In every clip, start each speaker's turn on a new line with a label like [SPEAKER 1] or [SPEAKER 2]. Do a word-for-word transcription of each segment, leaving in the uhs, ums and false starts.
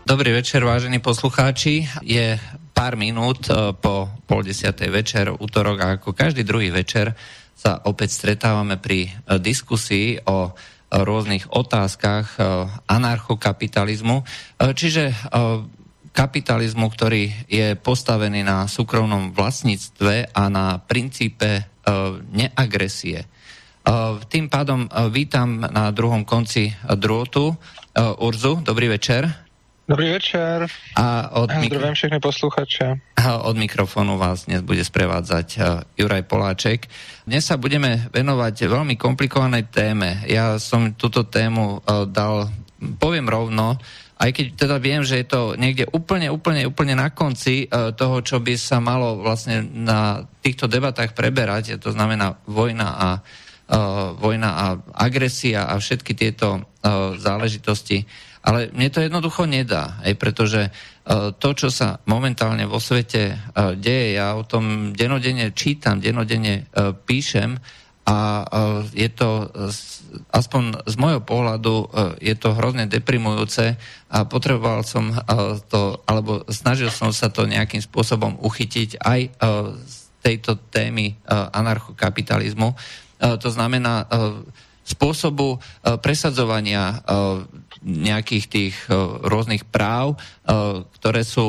[SPEAKER 1] Dobrý večer, vážení poslucháči. Je pár minút po pol desiatej večer, útorok, a ako každý druhý večer sa opäť stretávame pri diskusii o rôznych otázkach anarchokapitalizmu, čiže kapitalizmu, ktorý je postavený na súkromnom vlastníctve a na princípe neagresie. Tým pádom vítam na druhom konci drôtu Urzu. Dobrý večer.
[SPEAKER 2] Dobrý večer.
[SPEAKER 1] A od
[SPEAKER 2] Zdravím mikro... všechny posluchače.
[SPEAKER 1] A od mikrofónu vás dnes bude sprevádzať Juraj Poláček. Dnes sa budeme venovať veľmi komplikovanej téme. Ja som túto tému dal, poviem rovno, aj keď teda viem, že je to niekde úplne, úplne, úplne na konci toho, čo by sa malo vlastne na týchto debatách preberať, to znamená vojna a, uh, vojna a agresia a všetky tieto uh, záležitosti. Ale mne to jednoducho nedá, aj pretože uh, to, čo sa momentálne vo svete uh, deje, ja o tom denodenne čítam, denodenne uh, píšem a uh, je to, uh, aspoň z môjho pohľadu, uh, je to hrozne deprimujúce a potreboval som uh, to, alebo snažil som sa to nejakým spôsobom uchytiť aj uh, z tejto témy uh, anarchokapitalizmu. Uh, to znamená uh, spôsobu uh, presadzovania uh, nejakých tých uh, rôznych práv, uh, ktoré sú,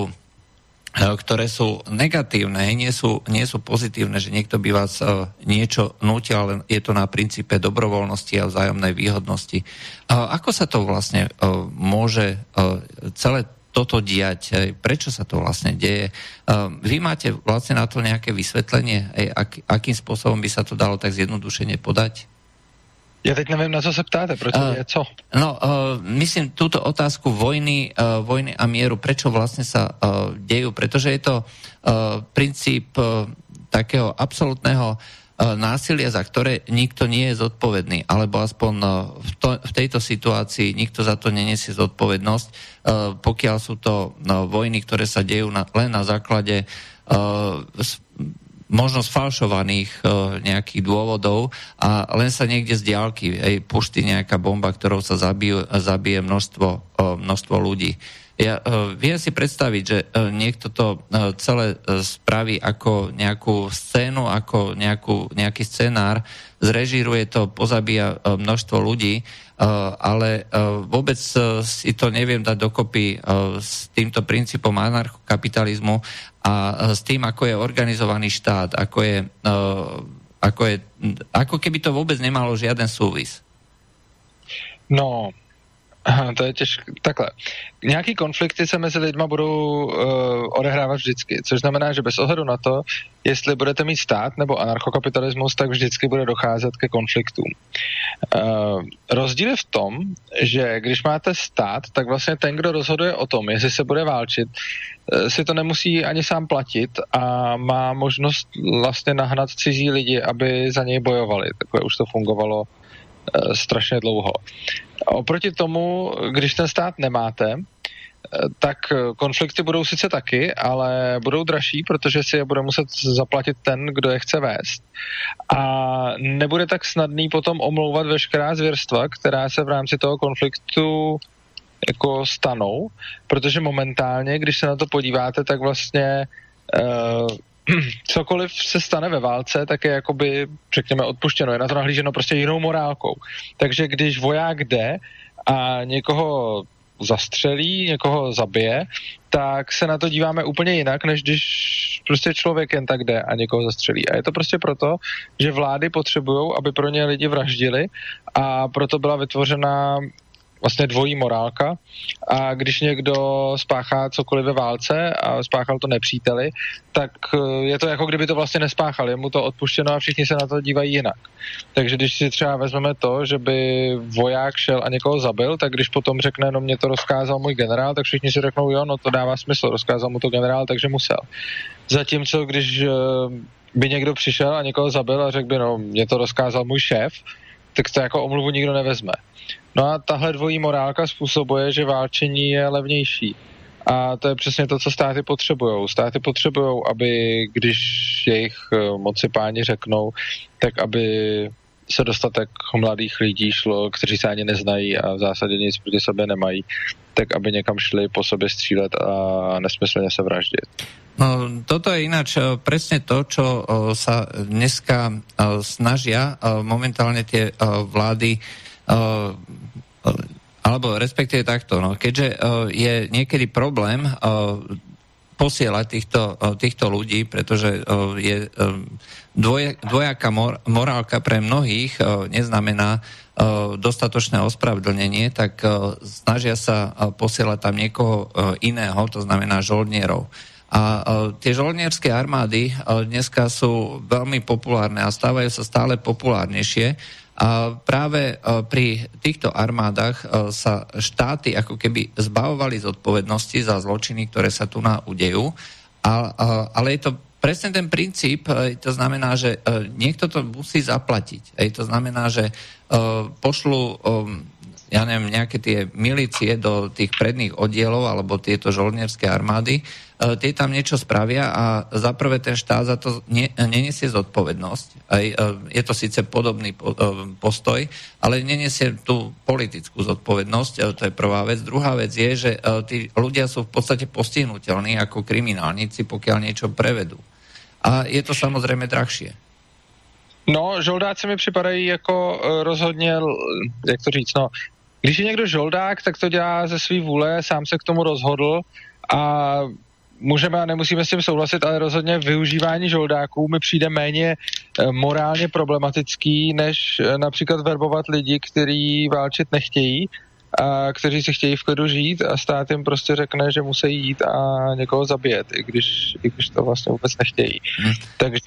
[SPEAKER 1] uh, ktoré sú negatívne, nie sú, nie sú pozitívne, že niekto by vás uh, niečo nútil, ale je to na princípe dobrovoľnosti a vzájomnej výhodnosti. Uh, ako sa to vlastne uh, môže uh, celé toto diať? Prečo sa to vlastne deje? Uh, vy máte vlastne na to nejaké vysvetlenie, ak, akým spôsobom by sa to dalo tak zjednodušene podať?
[SPEAKER 2] Ja teď neviem, na co sa ptáte, proti uh, je co?
[SPEAKER 1] No, uh, myslím túto otázku vojny, uh, vojny a mieru, prečo vlastne sa uh, dejú, pretože je to uh, princíp uh, takého absolútneho uh, násilia, za ktoré nikto nie je zodpovedný, alebo aspoň uh, v, to, v tejto situácii nikto za to nenesie zodpovednosť, uh, pokiaľ sú to uh, vojny, ktoré sa dejú na, len na základe uh, možno sfalšovaných uh, nejakých dôvodov a len sa niekde z diaľky ej, puští nejaká bomba, ktorou sa zabije, zabije množstvo, uh, množstvo ľudí. Ja uh, viem si predstaviť, že uh, niekto to uh, celé uh, spraví ako nejakú scénu, ako nejakú, nejaký scenár, zrežíruje to, pozabíja uh, množstvo ľudí, uh, ale uh, vôbec uh, si to neviem dať dokopy uh, s týmto princípom anarchokapitalizmu a s tým, ako je organizovaný štát, ako je, uh, ako je, ako keby to vôbec nemalo žiaden súvis.
[SPEAKER 2] No, to je těžké. Takhle. Nějaký konflikty se mezi lidma budou uh, odehrávat vždycky, což znamená, že bez ohledu na to, jestli budete mít stát nebo anarchokapitalismus, tak vždycky bude docházet ke konfliktům. Uh, rozdíl je v tom, že když máte stát, tak vlastně ten, kdo rozhoduje o tom, jestli se bude válčit, uh, si to nemusí ani sám platit a má možnost vlastně nahnat cizí lidi, aby za něj bojovali. Takhle už to fungovalo uh, strašně dlouho. Oproti tomu, když ten stát nemáte, tak konflikty budou sice taky, ale budou dražší, protože si je bude muset zaplatit ten, kdo je chce vést. A nebude tak snadný potom omlouvat veškerá zvěrstva, která se v rámci toho konfliktu jako stanou, protože momentálně, když se na to podíváte, tak vlastně uh, cokoliv se stane ve válce, tak je jakoby, řekněme, odpuštěno. Je na to nahlíženo prostě jinou morálkou. Takže když voják jde a někoho zastřelí, někoho zabije, tak se na to díváme úplně jinak, než když prostě člověk jen tak jde a někoho zastřelí. A je to prostě proto, že vlády potřebují, aby pro ně lidi vraždili a proto byla vytvořena vlastně dvojí morálka a když někdo spáchá cokoliv ve válce a spáchal to nepříteli, tak je to jako kdyby to vlastně nespáchal, je mu to odpuštěno a všichni se na to dívají jinak. Takže když si třeba vezmeme to, že by voják šel a někoho zabil, tak když potom řekne, no mě to rozkázal můj generál, tak všichni si řeknou, jo, no to dává smysl, rozkázal mu to generál, takže musel. Zatímco když by někdo přišel a někoho zabil a řekl by, no mě to rozkázal můj šéf, tak to jako omluvu nikdo nevezme. No a tahle dvojí morálka způsobuje, že válčení je levnější. A to je přesně to, co státy potřebujou. Státy potřebujou, aby když jejich moci páni řeknou, tak aby se dostatek mladých lidí šlo, kteří se ani neznají a v zásadě nic proti sobě nemají, tak aby někam šli po sobě střílet a nesmyslně se vraždit.
[SPEAKER 1] No, toto je ináč presne to, čo sa dneska snažia momentálne tie vlády, alebo respektíve takto, no, keďže je niekedy problém posielať týchto, týchto ľudí, pretože je dvojaká morálka pre mnohých neznamená dostatočné ospravedlnenie, tak snažia sa posielať tam niekoho iného, to znamená žoldnierov. A tie žoldnierské armády dneska sú veľmi populárne a stávajú sa stále populárnejšie. A práve pri týchto armádach sa štáty ako keby zbavovali zodpovednosti za zločiny, ktoré sa tu na udejú. A, ale je to presne ten princíp, to znamená, že niekto to musí zaplatiť. To znamená, že pošlu, ja neviem, nejaké tie milície do tých predných oddielov alebo tieto žoldnierské armády, tie tam niečo spravia a zaprvé ten štát za to ne, nenesie zodpovednosť. Aj, je to síce podobný postoj, ale nenesie tú politickú zodpovednosť, to je prvá vec. Druhá vec je, že tí ľudia sú v podstate postihnutelní ako kriminálnici, pokiaľ niečo prevedú. A je to samozrejme drahšie.
[SPEAKER 2] No, žoldáci mi připadají jako rozhodně, jak to říct, no, když je někdo žoldák, tak to dělá ze svý vůle, sám se k tomu rozhodl a můžeme a nemusíme s tím souhlasit, ale rozhodně využívání žoldáků mi přijde méně morálně problematický, než například verbovat lidi, kteří válčit nechtějí a kteří si chtějí v klidu žít a stát jim prostě řekne, že musí jít a někoho zabít, i když, i když to vlastně vůbec nechtějí. Hmm. Takže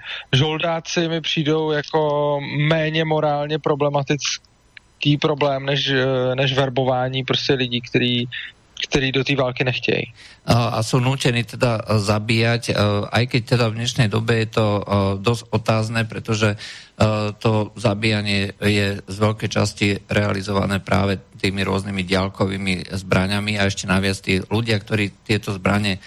[SPEAKER 2] žoldáci mi přijdou jako méně morálně problematický problém, než, než verbování prostě lidí, kteří ktorí do tej války nechtějí.
[SPEAKER 1] A sú nútení teda zabíjať, aj keď teda v dnešnej dobe je to dosť otázne, pretože to zabíjanie je z veľkej časti realizované práve tými rôznymi diaľkovými zbraňami a ešte naviac tí ľudia, ktorí tieto zbrane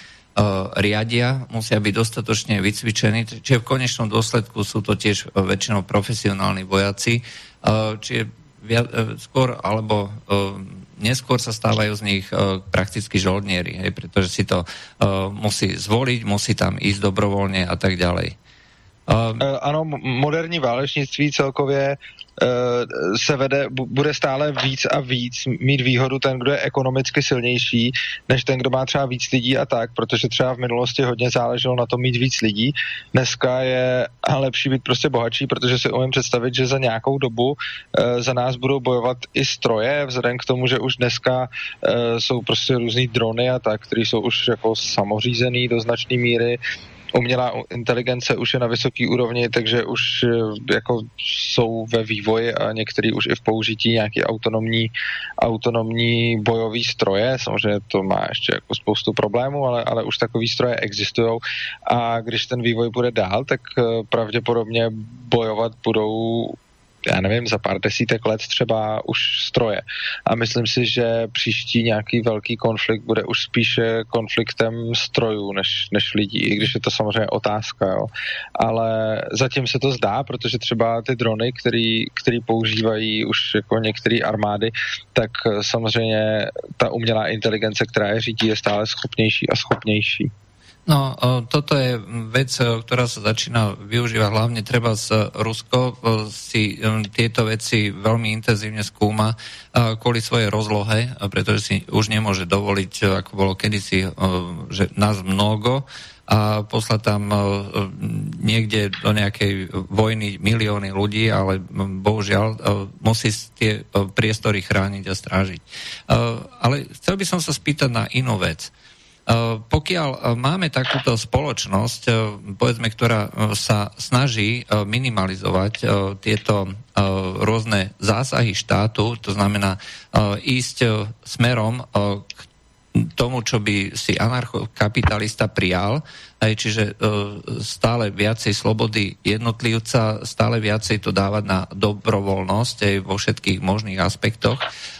[SPEAKER 1] riadia, musia byť dostatočne vycvičení, čiže v konečnom dôsledku sú to tiež väčšinou profesionálni vojaci, čiže skôr alebo neskôr sa stávajú z nich uh, prakticky žoldnieri, hej, pretože si to uh, musí zvoliť, musí tam ísť dobrovoľne a tak ďalej.
[SPEAKER 2] Uh, ano, moderní válečnictví celkově uh, se vede, bude stále víc a víc mít výhodu ten, kdo je ekonomicky silnější, než ten, kdo má třeba víc lidí a tak, protože třeba v minulosti hodně záleželo na tom mít víc lidí. Dneska je lepší být prostě bohatší, protože si umím představit, že za nějakou dobu uh, za nás budou bojovat i stroje, vzhledem k tomu, že už dneska uh, jsou prostě různý drony a tak, které jsou už jako samořízený do značné míry. Umělá inteligence už je na vysoké úrovni, takže už jako jsou ve vývoji a některý už i v použití nějaký autonomní, autonomní bojový stroje. Samozřejmě to má ještě jako spoustu problémů, ale, ale už takový stroje existují a když ten vývoj bude dál, tak pravděpodobně bojovat budou, já nevím, za pár desítek let třeba už stroje. A myslím si, že příští nějaký velký konflikt bude už spíše konfliktem strojů než, než lidí, i když je to samozřejmě otázka, jo. Ale zatím se to zdá, protože třeba ty drony, který, který používají už jako některé armády, tak samozřejmě ta umělá inteligence, která je řídí, je stále schopnější a schopnější.
[SPEAKER 1] No, toto je vec, ktorá sa začína využívať hlavne treba z Rusko, si tieto veci veľmi intenzívne skúma kvôli svojej rozlohe, pretože si už nemôže dovoliť, ako bolo kedysi, že nás mnoho a poslať tam niekde do nejakej vojny milióny ľudí, ale bohužiaľ musí tie priestory chrániť a strážiť. Ale chcel by som sa spýtať na inú vec. Pokiaľ máme takúto spoločnosť, povedzme, ktorá sa snaží minimalizovať tieto rôzne zásahy štátu, to znamená ísť smerom k tomu, čo by si anarchokapitalista prijal, čiže stále viacej slobody jednotlivca, stále viacej to dávať na dobrovoľnosť aj vo všetkých možných aspektoch.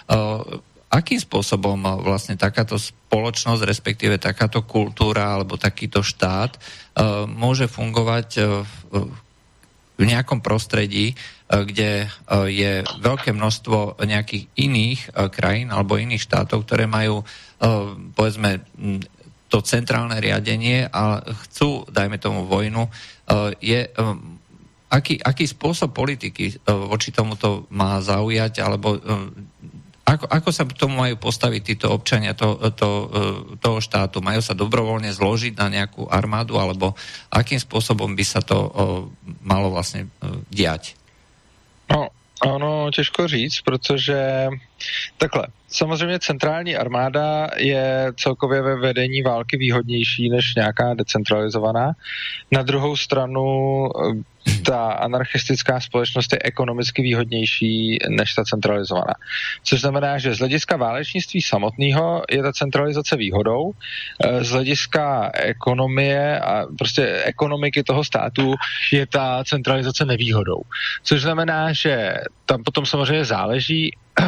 [SPEAKER 1] Akým spôsobom vlastne takáto spoločnosť, respektíve takáto kultúra alebo takýto štát uh, môže fungovať uh, v nejakom prostredí, kde je veľké množstvo nejakých iných krajín alebo iných štátov, ktoré majú, povedzme, to centrálne riadenie a chcú, dajme tomu, vojnu, je, aký, aký spôsob politiky voči tomuto má zaujať, alebo ako, ako sa k tomu majú postaviť títo občania to, to, toho štátu? Majú sa dobrovoľne zložiť na nejakú armádu, alebo akým spôsobom by sa to malo vlastne diať?
[SPEAKER 2] No, ono těžko říct, protože takhle, samozřejmě centrální armáda je celkově ve vedení války výhodnější než nějaká decentralizovaná. Na druhou stranu ta anarchistická společnost je ekonomicky výhodnější než ta centralizovaná. Což znamená, že z hlediska válečnictví samotného je ta centralizace výhodou, z hlediska ekonomie a prostě ekonomiky toho státu je ta centralizace nevýhodou. Což znamená, že tam potom samozřejmě záleží,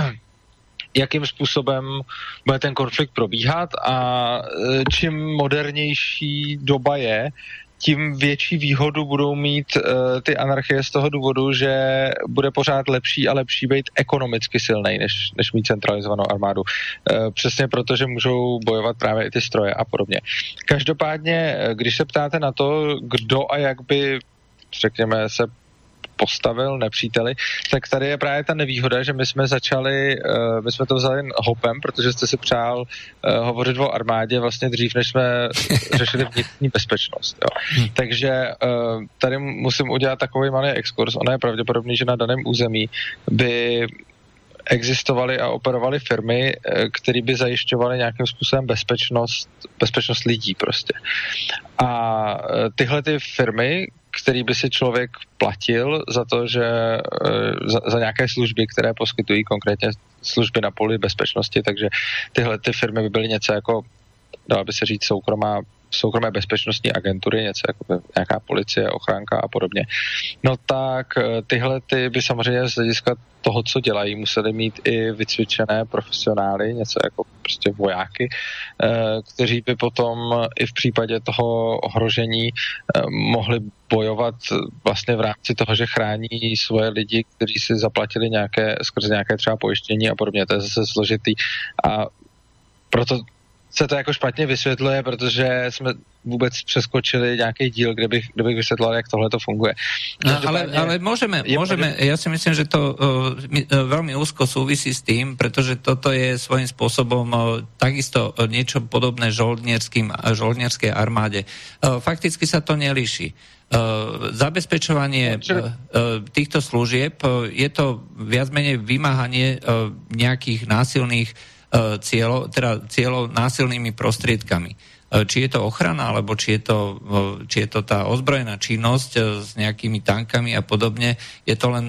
[SPEAKER 2] jakým způsobem bude ten konflikt probíhat a čím modernější doba je, tím větší výhodu budou mít uh, ty anarchie z toho důvodu, že bude pořád lepší a lepší být ekonomicky silnej, než, než mít centralizovanou armádu. Uh, přesně proto, že můžou bojovat právě i ty stroje a podobně. Každopádně, když se ptáte na to, kdo a jak by, řekněme, se postavil nepříteli, tak tady je právě ta nevýhoda, že my jsme začali, uh, my jsme to vzali hopem, protože jste si přál uh, hovořit o armádě vlastně dřív, než jsme řešili vnitřní bezpečnost. Jo. Hmm. Takže uh, tady musím udělat takový malý exkurs. Ono je pravděpodobný, že na daném území by existovaly a operovaly firmy, které by zajišťovaly nějakým způsobem bezpečnost, bezpečnost lidí prostě. A tyhle ty firmy, který by si člověk platil za to, že za, za nějaké služby, které poskytují konkrétně služby na poli bezpečnosti, takže tyhle ty firmy by byly něco jako, dalo by se říct, soukromá soukromé bezpečnostní agentury, něco jako nějaká policie, ochránka a podobně. No tak tyhle ty by samozřejmě z hlediska toho, co dělají, museli mít i vycvičené profesionály, něco jako prostě vojáky, kteří by potom i v případě toho ohrožení mohli bojovat vlastně v rámci toho, že chrání svoje lidi, kteří si zaplatili nějaké, skrze nějaké třeba pojištění a podobně. To je zase složitý a proto se to jako špatně vysvětluje, protože jsme vůbec přeskočili nějaký díl, kde bych, kde bych vysvětlil, jak tohle to funguje.
[SPEAKER 1] No, ale, ale môžeme, môžeme, ja si myslím, že to uh, veľmi úzko súvisí s tým, pretože toto je svojím spôsobom uh, takisto uh, niečo podobné žoldnierským, žoldnierskej armáde. Uh, fakticky sa to nelíši. Uh, zabezpečovanie uh, uh, týchto služieb uh, je to viac menej vymáhanie uh, nejakých násilných cieľov, teda cieľov násilnými prostriedkami. Či je to ochrana, alebo či je to, či je to tá ozbrojená činnosť s nejakými tankami a podobne, je to len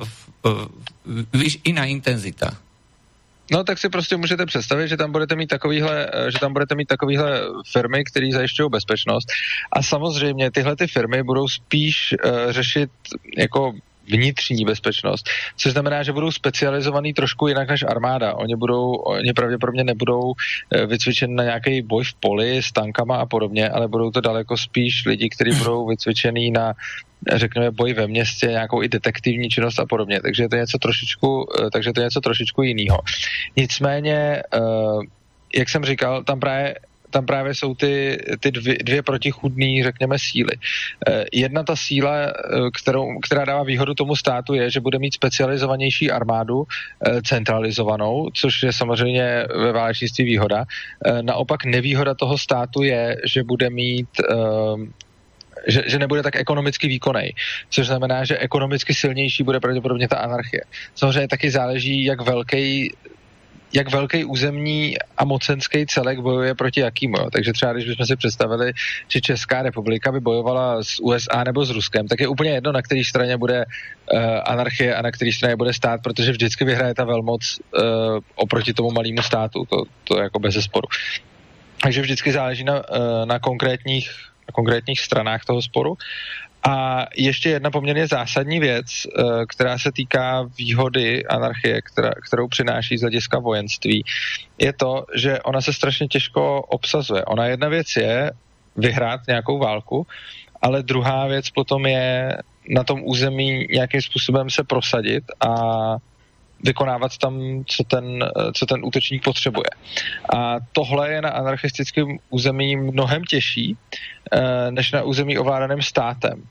[SPEAKER 1] iná intenzita.
[SPEAKER 2] No tak si prostě můžete představit, že tam budete mít takovýhle, že tam budete mít takovýhle firmy, které zajišťují bezpečnost a samozřejmě tyhle ty firmy budou spíš uh, řešit jako vnitřní bezpečnost, což znamená, že budou specializovaný trošku jinak než armáda. Oni budou, oni pravděpodobně nebudou vycvičeni na nějaký boj v poli s tankama a podobně, ale budou to daleko spíš lidi, kteří budou vycvičený na, řekněme, boj ve městě, nějakou i detektivní činnost a podobně. Takže to je něco trošičku, takže to je něco trošičku jiného. Nicméně, jak jsem říkal, tam právě tam právě jsou ty, ty dvě, dvě protichůdné, řekněme, síly. Jedna ta síla, kterou, která dává výhodu tomu státu, je, že bude mít specializovanější armádu, centralizovanou, což je samozřejmě ve válečnictví výhoda. Naopak nevýhoda toho státu je, že bude mít Že, že nebude tak ekonomicky výkonnej, což znamená, že ekonomicky silnější bude pravděpodobně ta anarchie. Samozřejmě taky záleží, jak velký jak velký územní a mocenský celek bojuje proti jakýmu. Jo. Takže třeba, když bychom si představili, že Česká republika by bojovala s U S A nebo s Ruskem, tak je úplně jedno, na které straně bude uh, anarchie a na které straně bude stát, protože vždycky vyhraje ta velmoc uh, oproti tomu malému státu. To, to je jako bezesporu. Takže vždycky záleží na, uh, na konkrétních na konkrétních stranách toho sporu. A ještě jedna poměrně zásadní věc, která se týká výhody anarchie, která, kterou přináší z hlediska vojenství, je to, že ona se strašně těžko obsazuje. Ona jedna věc je vyhrát nějakou válku, ale druhá věc potom je na tom území nějakým způsobem se prosadit a vykonávat tam, co ten, co ten útočník potřebuje. A tohle je na anarchistickém území mnohem těžší, než na území ovládaném státem.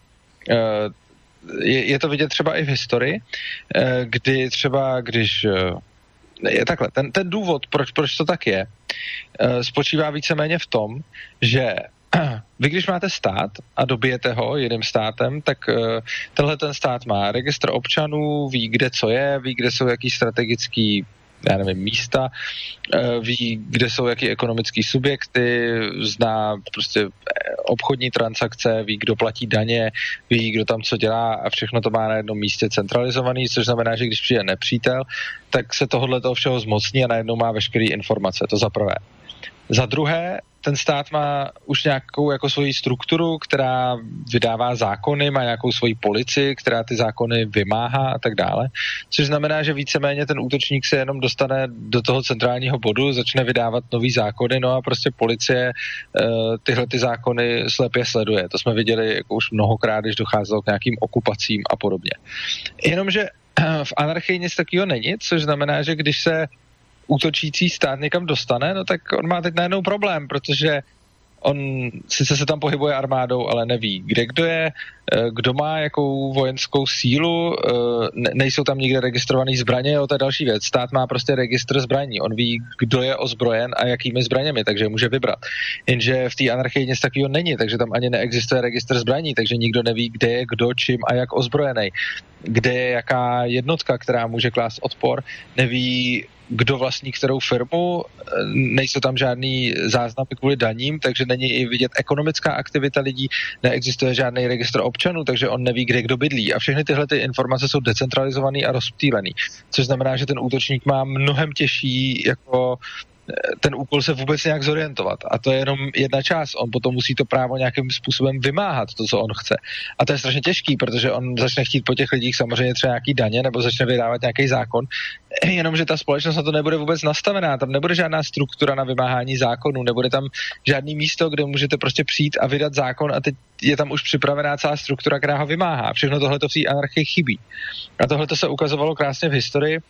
[SPEAKER 2] Je, je to vidět třeba i v historii, kdy třeba, když je takhle, ten, ten důvod, proč, proč to tak je, spočívá víceméně v tom, že vy, když máte stát a dobijete ho jiným státem, tak tenhle ten stát má registr občanů, ví, kde co je, ví, kde jsou jaký strategický, já nevím, místa, ví, kde jsou jaký ekonomický subjekty, zná prostě obchodní transakce, ví, kdo platí daně, ví, kdo tam co dělá a všechno to má na jednom místě centralizovaný, což znamená, že když přijde nepřítel, tak se tohohle toho všeho zmocní a najednou má veškeré informace, to za prvé. Za druhé, ten stát má už nějakou jako svoji strukturu, která vydává zákony, má nějakou svoji policii, která ty zákony vymáhá a tak dále, což znamená, že víceméně ten útočník se jenom dostane do toho centrálního bodu, začne vydávat nový zákony, no a prostě policie uh, tyhle ty zákony slepě sleduje. To jsme viděli jako už mnohokrát, když docházelo k nějakým okupacím a podobně. Jenomže v anarchii nic takového není, což znamená, že když se útočící stát někam dostane, no tak on má teď najednou problém, protože on sice se tam pohybuje armádou, ale neví, kde kdo je, kdo má jakou vojenskou sílu, nejsou tam nikde registrovaný zbraně, jo, to je další věc. Stát má prostě registr zbraní, on ví, kdo je ozbrojen a jakými zbraněmi, takže může vybrat. Jenže v té anarchii nic takového není, takže tam ani neexistuje registr zbraní, takže nikdo neví, kde je kdo, čím a jak ozbrojený. Kde je jaká jednotka, která může klást odpor, neví, kdo vlastní kterou firmu, nejsou tam žádný záznamy kvůli daním, takže není i vidět ekonomická aktivita lidí, neexistuje žádný registr občanů, takže on neví, kde kdo bydlí. A všechny tyhle ty informace jsou decentralizované a rozptýlené, což znamená, že ten útočník má mnohem těžší jako ten úkol se vůbec nějak zorientovat. A to je jenom jedna část. On potom musí to právo nějakým způsobem vymáhat, to, co on chce. A to je strašně těžký, protože on začne chtít po těch lidích samozřejmě třeba nějaký daně nebo začne vydávat nějaký zákon, jenomže ta společnost na to nebude vůbec nastavená. Tam nebude žádná struktura na vymáhání zákonů, nebude tam žádný místo, kde můžete prostě přijít a vydat zákon a teď je tam už připravená celá struktura, která ho vymáhá. Všechno tohle to v té anarchii chybí. A tohle to se ukazovalo krásně v historii,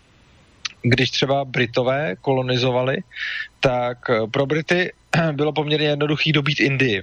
[SPEAKER 2] když třeba Britové kolonizovali, tak pro Brity bylo poměrně jednoduchý dobít Indii.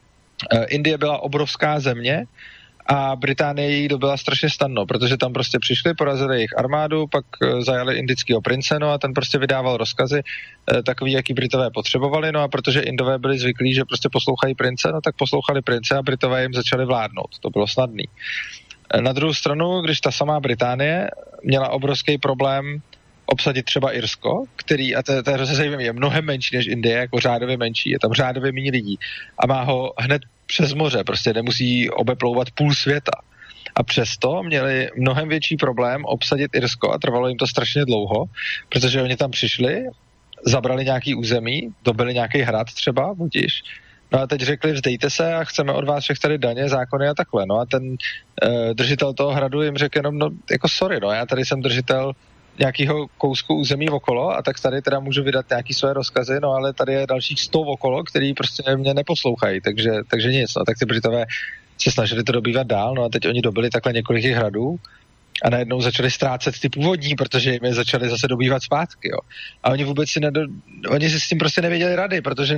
[SPEAKER 2] Indie byla obrovská země a Británie jí dobila strašně snadno, protože tam prostě přišli, porazili jejich armádu, pak zajali indického prince, no a ten prostě vydával rozkazy takový, jaký Britové potřebovali, no a protože Indové byli zvyklí, že prostě poslouchají prince, no tak poslouchali prince a Britové jim začali vládnout. To bylo snadný. Na druhou stranu, když ta samá Británie měla obrovský problém obsadit třeba Irsko, který, a to, to je hrozně zajímavé, je mnohem menší než Indie, jako řádově menší, je tam řádově méně lidí a má ho hned přes moře, prostě nemusí obeplouvat půl světa. A přesto měli mnohem větší problém obsadit Irsko a trvalo jim to strašně dlouho, protože oni tam přišli, zabrali nějaký území, dobili nějaký hrad třeba, budiš, no a teď řekli, vzdejte se a chceme od vás všech tady daně, zákony a takhle. No a ten uh, držitel toho hradu jim řekl jenom, no jako sorry, no já tady jsem držitel nějakého kousku území okolo a tak tady teda můžu vydat nějaký své rozkazy, no ale tady je dalších sto okolo, který prostě mě neposlouchají, takže, takže nic, no tak ty Britové se snažili to dobývat dál, no a teď oni dobili takhle několik hradů a najednou začali ztrácet ty původní, protože jim je začali zase dobývat zpátky, jo. A oni vůbec si nedo, oni si s tím prostě nevěděli rady, protože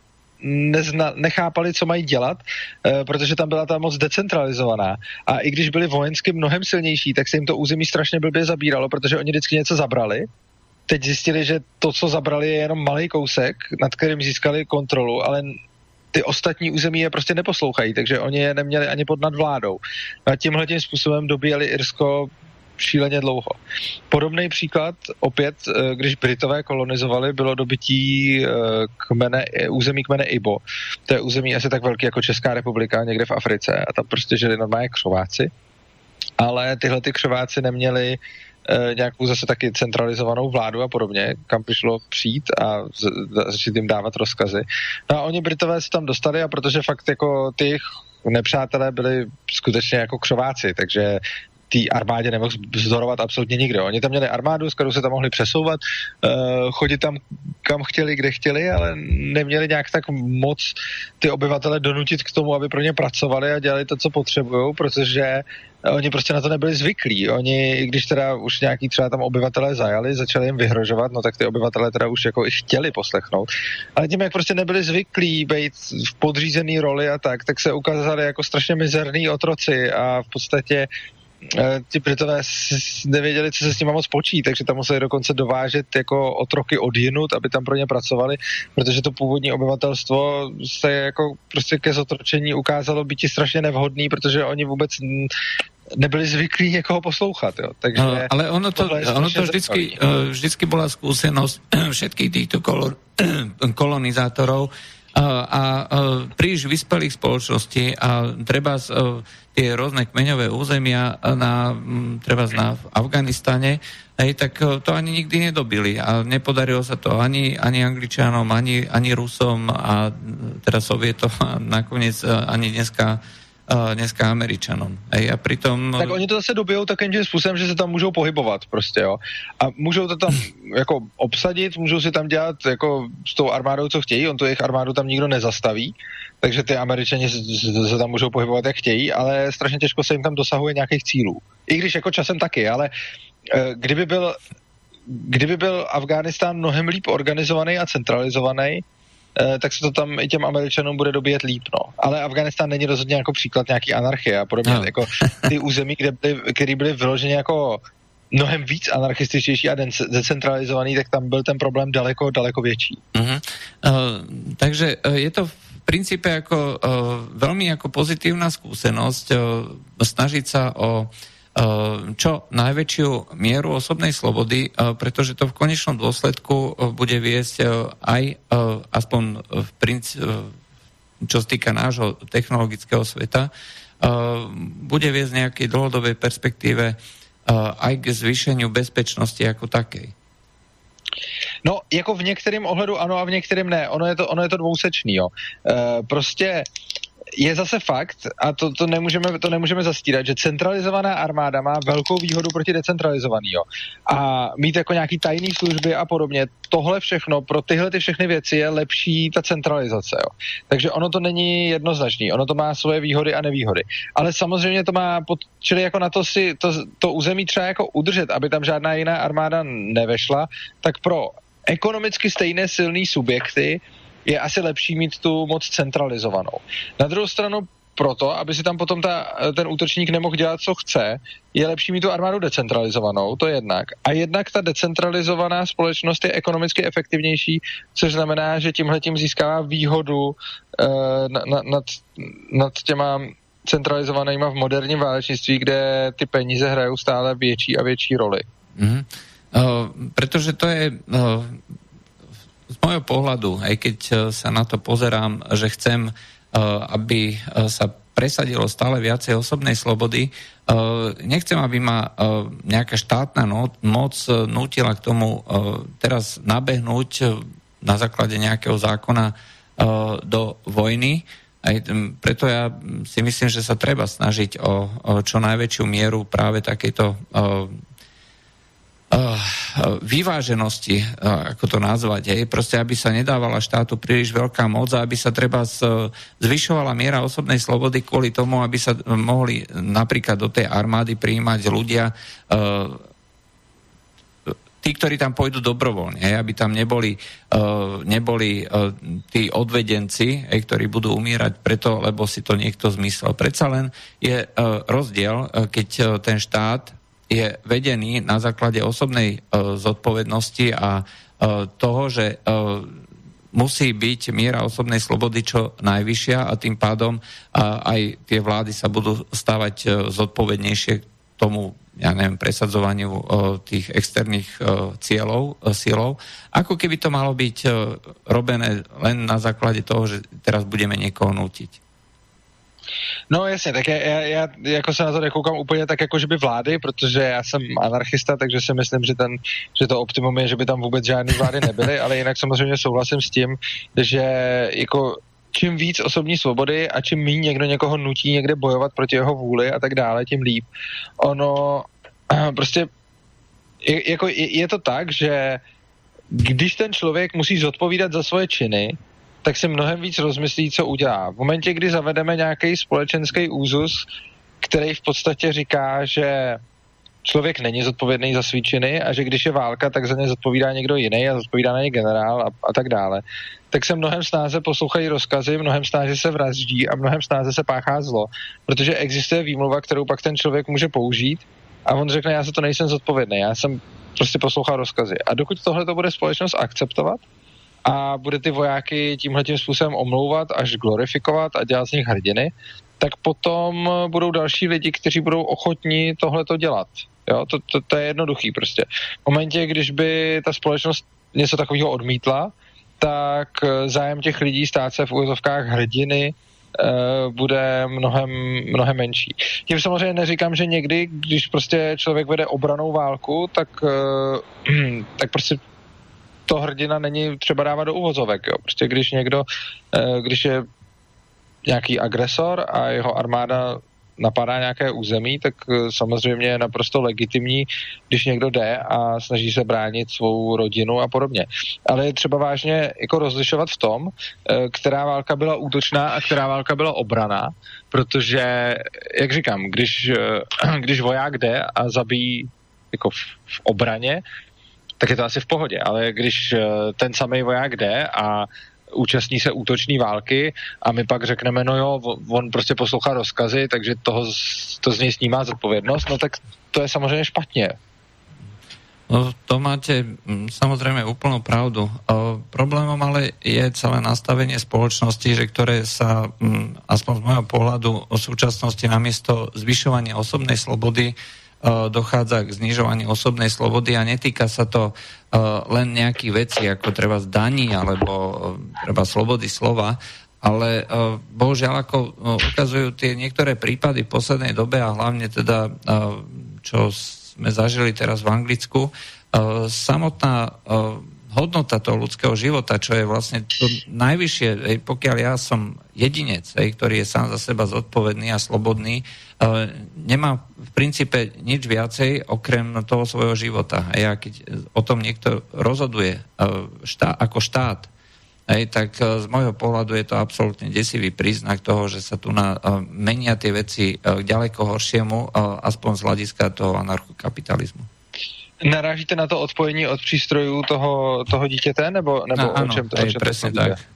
[SPEAKER 2] Nezna, nechápali, co mají dělat, e, protože tam byla ta moc decentralizovaná. A i když byli vojensky mnohem silnější, tak se jim to území strašně blbě zabíralo, protože oni vždycky něco zabrali. Teď zjistili, že to, co zabrali, je jenom malý kousek, nad kterým získali kontrolu, ale ty ostatní území je prostě neposlouchají, takže oni je neměli ani pod nadvládou. A tímhletím způsobem dobíjeli Irsko šíleně dlouho. Podobný příklad, opět, když Britové kolonizovali, bylo dobytí kmene, území kmene Ibo. To je území asi tak velký jako Česká republika, někde v Africe a tam prostě žili normálně křováci. Ale tyhle ty křováci neměli nějakou zase taky centralizovanou vládu a podobně, kam přišlo přijít a začít jim dávat rozkazy. No a oni Britové se tam dostali a protože fakt jako ty nepřátelé byli skutečně jako křováci, takže té armádě nemohl vzdorovat absolutně nikdo. Oni tam měli armádu, s kterou se tam mohli přesouvat, uh, chodit tam kam chtěli, kde chtěli, ale neměli nějak tak moc ty obyvatele donutit k tomu, aby pro ně pracovali a dělali to, co potřebujou, protože oni prostě na to nebyli zvyklí. Oni, i když teda už nějaký třeba tam obyvatelé zajali, začali jim vyhrožovat, no tak ty obyvatelé teda už jako i chtěli poslechnout. Ale tím, jak prostě nebyli zvyklí být v podřízený roli a tak, tak se ukázali jako strašně mizerný otroci a v podstatě ti Britové nevěděli, co se s nimi moc počít, takže tam museli dokonce dovážet jako otroky odjinut, aby tam pro ně pracovali, protože to původní obyvatelstvo se jako prostě ke zotročení ukázalo být strašně nevhodný, protože oni vůbec nebyli zvyklí někoho poslouchat. Jo. Takže
[SPEAKER 1] no, ale ono to, ono to vždycky, vždycky bola skúsenosť všetkých týchto kolor, kolonizátorov a, a príliš vyspelých spoločností a treba z, tie rôzne kmeňové územia na, treba na Afganistane, hej, tak to ani nikdy nedobili a nepodarilo sa to ani, ani Angličanom, ani, ani Rusom a teda Sovietom a nakoniec ani dneska dneska Američanom. Ej, a pritom...
[SPEAKER 2] Tak oni to zase dobijou takým tím způsobem, že se tam můžou pohybovat prostě, jo. A můžou to tam jako obsadit, můžou si tam dělat jako s tou armádou, co chtějí, on tu jejich armádu tam nikdo nezastaví, takže ty Američani se tam můžou pohybovat, jak chtějí, ale strašně těžko se jim tam dosahuje nějakých cílů. I když jako časem taky, ale kdyby byl kdyby byl Afghánistán mnohem líp organizovaný a centralizovaný, tak se to tam i těm Američanům bude dobíjet líp, no. Ale Afghánistán není rozhodně jako příklad nějaký anarchie a podobně. No. Jako ty území, kde byly, které byly vyloženě jako mnohem víc anarchističtější a decentralizovaný, tak tam byl ten problém daleko, daleko větší.
[SPEAKER 1] Uh-huh. Uh, takže uh, je to v princípe ako, uh, veľmi ako pozitívna skúsenosť uh, snažiť sa o čo najväčšiu mieru osobnej slobody, pretože to v konečnom dôsledku bude viesť aj aspoň v princ- čo sa týka nášho technologického sveta, bude viesť v nejakej dlhodobej perspektíve aj k zvýšeniu bezpečnosti ako takej.
[SPEAKER 2] No, jako v některém ohledu ano a v některém ne. Ono je to, ono je to dvousečný, jo. E, prostě je zase fakt, a to, to, nemůžeme, to nemůžeme zastírat, že centralizovaná armáda má velkou výhodu proti decentralizovaný. Jo. A mít jako nějaký tajný služby a podobně, tohle všechno, pro tyhle ty všechny věci je lepší ta centralizace. Jo. Takže ono to není jednoznačný, ono to má svoje výhody a nevýhody. Ale samozřejmě to má, pod, čili jako na to si to, to území třeba jako udržet, aby tam žádná jiná armáda nevešla, tak pro ekonomicky stejné silný subjekty je asi lepší mít tu moc centralizovanou. Na druhou stranu proto, aby si tam potom ta, ten útočník nemohl dělat, co chce, je lepší mít tu armádu decentralizovanou, to jednak. A jednak ta decentralizovaná společnost je ekonomicky efektivnější, což znamená, že tímhletím získává výhodu eh, nad, nad, nad těma centralizovanýma v moderním válečnictví, kde ty peníze hrajou stále větší a větší roli.
[SPEAKER 1] Mm-hmm. Uh, pretože to je... Uh... Z môjho pohľadu, aj keď sa na to pozerám, že chcem, aby sa presadilo stále viacej osobnej slobody, nechcem, aby ma nejaká štátna moc nútila k tomu teraz nabehnúť na základe nejakého zákona do vojny. Aj preto ja si myslím, že sa treba snažiť o čo najväčšiu mieru práve takejto vyváženosti, ako to nazvať, je proste, aby sa nedávala štátu príliš veľká moc a aby sa treba zvyšovala miera osobnej slobody kvôli tomu, aby sa mohli napríklad do tej armády prijímať ľudia, tí, ktorí tam pôjdu dobrovoľne, aby tam neboli, neboli tí odvedenci, ktorí budú umierať preto, lebo si to niekto zmyslel. Predsa len je rozdiel, keď ten štát je vedený na základe osobnej uh, zodpovednosti a uh, toho, že uh, musí byť miera osobnej slobody čo najvyššia a tým pádom uh, aj tie vlády sa budú stávať uh, zodpovednejšie tomu, ja neviem, presadzovaniu uh, tých externých uh, cieľov, uh, cieľov, ako keby to malo byť uh, robené len na základe toho, že teraz budeme niekoho nútiť.
[SPEAKER 2] No jasně, tak já, já, já jako se na to nekoukám úplně tak jako, že by vlády, protože já jsem anarchista, takže si myslím, že, ten, že to optimum je, že by tam vůbec žádný vlády nebyly, ale jinak samozřejmě souhlasím s tím, že jako čím víc osobní svobody a čím méně někdo někoho nutí někde bojovat proti jeho vůli a tak dále, tím líp. Ono prostě je, jako je, je to tak, že když ten člověk musí zodpovídat za svoje činy, tak si mnohem víc rozmyslí, co udělá. V momentě, kdy zavedeme nějaký společenský úzus, který v podstatě říká, že člověk není zodpovědný za svý činy a že když je válka, tak za ně zodpovídá někdo jiný a zodpovídá na ně generál a, a tak dále, tak se mnohem snáze poslouchají rozkazy, mnohem snáze se vraždí a mnohem snáze se páchá zlo, protože existuje výmluva, kterou pak ten člověk může použít a on řekne, já za to nejsem zodpovědný, já jsem prostě poslouchal rozkazy. A dokud tohle to bude společnost akceptovat a bude ty vojáky tímhletím způsobem omlouvat až glorifikovat a dělat z nich hrdiny, tak potom budou další lidi, kteří budou ochotní tohleto dělat. Jo, to, to, to je jednoduchý prostě. V momentě, když by ta společnost něco takového odmítla, tak zájem těch lidí stát se v úvozovkách hrdiny uh, bude mnohem, mnohem menší. Tím samozřejmě neříkám, že někdy, když prostě člověk vede obranou válku, tak, uh, tak prostě to hrdina není třeba dávat do uvozovek. Jo. Prostě když někdo, uh, když je nějaký agresor a jeho armáda napadá nějaké území, tak samozřejmě je naprosto legitimní, když někdo jde a snaží se bránit svou rodinu a podobně. Ale je třeba vážně jako rozlišovat v tom, která válka byla útočná a která válka byla obraná, protože, jak říkám, když, když voják jde a zabíjí jako v, v obraně, tak je to asi v pohodě, ale když ten samý voják jde a účastní se útoční války a my pak řekneme, no jo, on prostě poslouchá rozkazy, takže toho, to z něj snímá zodpovědnost, no tak to je samozřejmě špatně.
[SPEAKER 1] No, to máte samozrejme úplnú pravdu. O, problémom ale je celé nastavenie spoločnosti, že ktoré sa, aspoň z môjho pohľadu, o súčasnosti namiesto zvyšovania osobnej slobody dochádza k znižovaniu osobnej slobody a netýka sa to uh, len nejakých vecí, ako treba zdaní alebo uh, treba slobody slova, ale uh, bohužiaľ, ako uh, ukazujú tie niektoré prípady v poslednej dobe a hlavne teda, uh, čo sme zažili teraz v Anglicku, uh, samotná uh, hodnota toho ľudského života, čo je vlastne to najvyššie, ej, pokiaľ ja som jedinec, ej, ktorý je sám za seba zodpovedný a slobodný, uh, nemá v princípe nič viacej okrem toho svojho života. A ja, keď o tom niekto rozhoduje uh, štá, ako štát, ej, tak uh, z môjho pohľadu je to absolútne desivý príznak toho, že sa tu na, uh, menia tie veci uh, k ďaleko horšiemu, uh, aspoň z hľadiska toho anarchokapitalizmu.
[SPEAKER 2] Narážíte na to odpojení od přístrojů toho, toho dítěte, nebo, nebo
[SPEAKER 1] no,
[SPEAKER 2] o
[SPEAKER 1] ano,
[SPEAKER 2] čem to, o čem
[SPEAKER 1] presne
[SPEAKER 2] to
[SPEAKER 1] tak.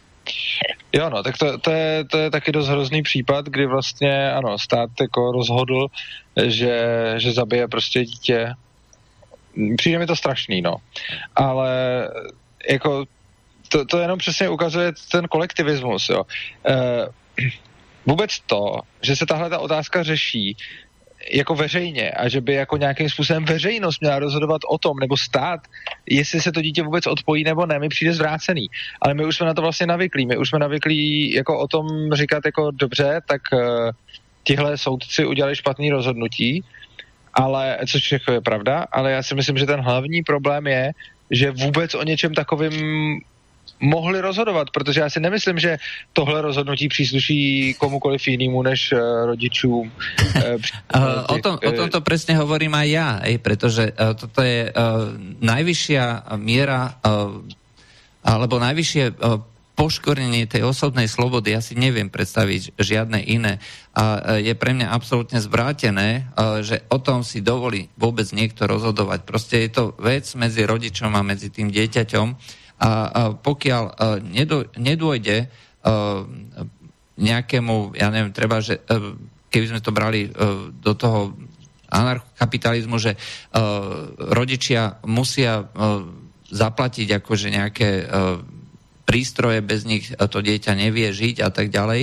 [SPEAKER 2] Jo, no, tak to, to, je, to je taky dost hrozný případ, kdy vlastně, ano, stát jako rozhodl, že, že zabije prostě dítě. Přijde mi to strašný, no. Ale jako to, to jenom přesně ukazuje ten kolektivismus, jo. E, vůbec to, že se tahle ta otázka řeší jako veřejně a že by jako nějakým způsobem veřejnost měla rozhodovat o tom, nebo stát, jestli se to dítě vůbec odpojí nebo ne, mi přijde zvrácený. Ale my už jsme na to vlastně navyklí. My už jsme navyklí jako o tom říkat jako dobře, tak uh, tihle soudci udělali špatný rozhodnutí, ale, což jako je pravda, ale já si myslím, že ten hlavní problém je, že vůbec o něčem takovým mohli rozhodovat, protože já si nemyslím, že tohle rozhodnutí přísluší komukoliv jinému než uh, rodičům.
[SPEAKER 1] Uh, o, tom, o tomto presne hovorím aj ja, ej, pretože uh, toto je uh, najvyššia miera uh, alebo najvyššie uh, poškornenie tej osobnej slobody. Ja si neviem predstaviť žiadne iné. A uh, je pre mňa absolútne zvrátené, uh, že o tom si dovolí vôbec niekto rozhodovať. Proste je to vec medzi rodičom a medzi tým dieťaťom. A, a pokiaľ uh, nedô, nedôjde uh, nejakému, ja neviem, treba, že uh, keby sme to brali uh, do toho anarchokapitalizmu, že uh, rodičia musia uh, zaplatiť akože nejaké uh, prístroje, bez nich to dieťa nevie žiť a tak ďalej.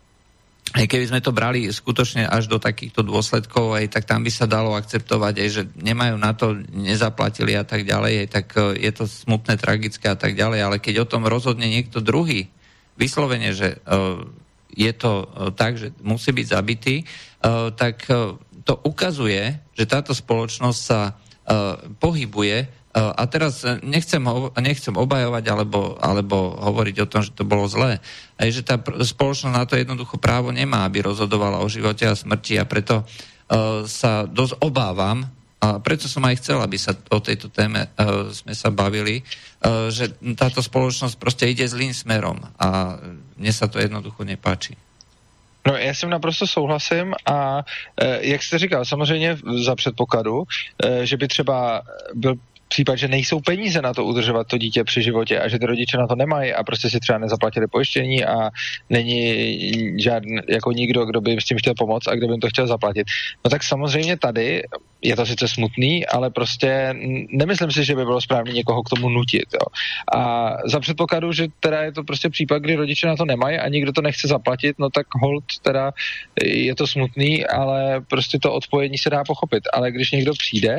[SPEAKER 1] Aj keby sme to brali skutočne až do takýchto dôsledkov, aj tak tam by sa dalo akceptovať, aj že nemajú na to, nezaplatili a tak ďalej, aj tak je to smutné, tragické a tak ďalej, ale keď o tom rozhodne niekto druhý, vyslovene, že uh, je to uh, tak, že musí byť zabitý, uh, tak uh, to ukazuje, že táto spoločnosť sa uh, pohybuje A teraz nechcem, nechcem obajovať alebo, alebo hovoriť o tom, že to bolo zlé. Aj že tá spoločnosť na to jednoducho právo nemá, aby rozhodovala o živote a smrti a preto uh, sa dosť obávam, a preto som aj chcel, aby sa o tejto téme uh, sme sa bavili, uh, že táto spoločnosť proste ide zlým smerom a mne sa to jednoducho nepáči.
[SPEAKER 2] No, já s tím naprosto souhlasím a e, jak jste říkal, samozřejmě za předpokladu, e, že by třeba byl případ, že nejsou peníze na to udržovat to dítě při životě a že ty rodiče na to nemají a prostě si třeba nezaplatili pojištění a není žádný, jako nikdo, kdo by jim s tím chtěl pomoct a kdo by jim to chtěl zaplatit. No tak samozřejmě tady je to sice smutný, ale prostě nemyslím si, že by bylo správné někoho k tomu nutit. Jo. A za předpokladu, že teda je to prostě případ, kdy rodiče na to nemají a nikdo to nechce zaplatit, no tak hold teda je to smutný, ale prostě to odpojení se dá pochopit. Ale když někdo přijde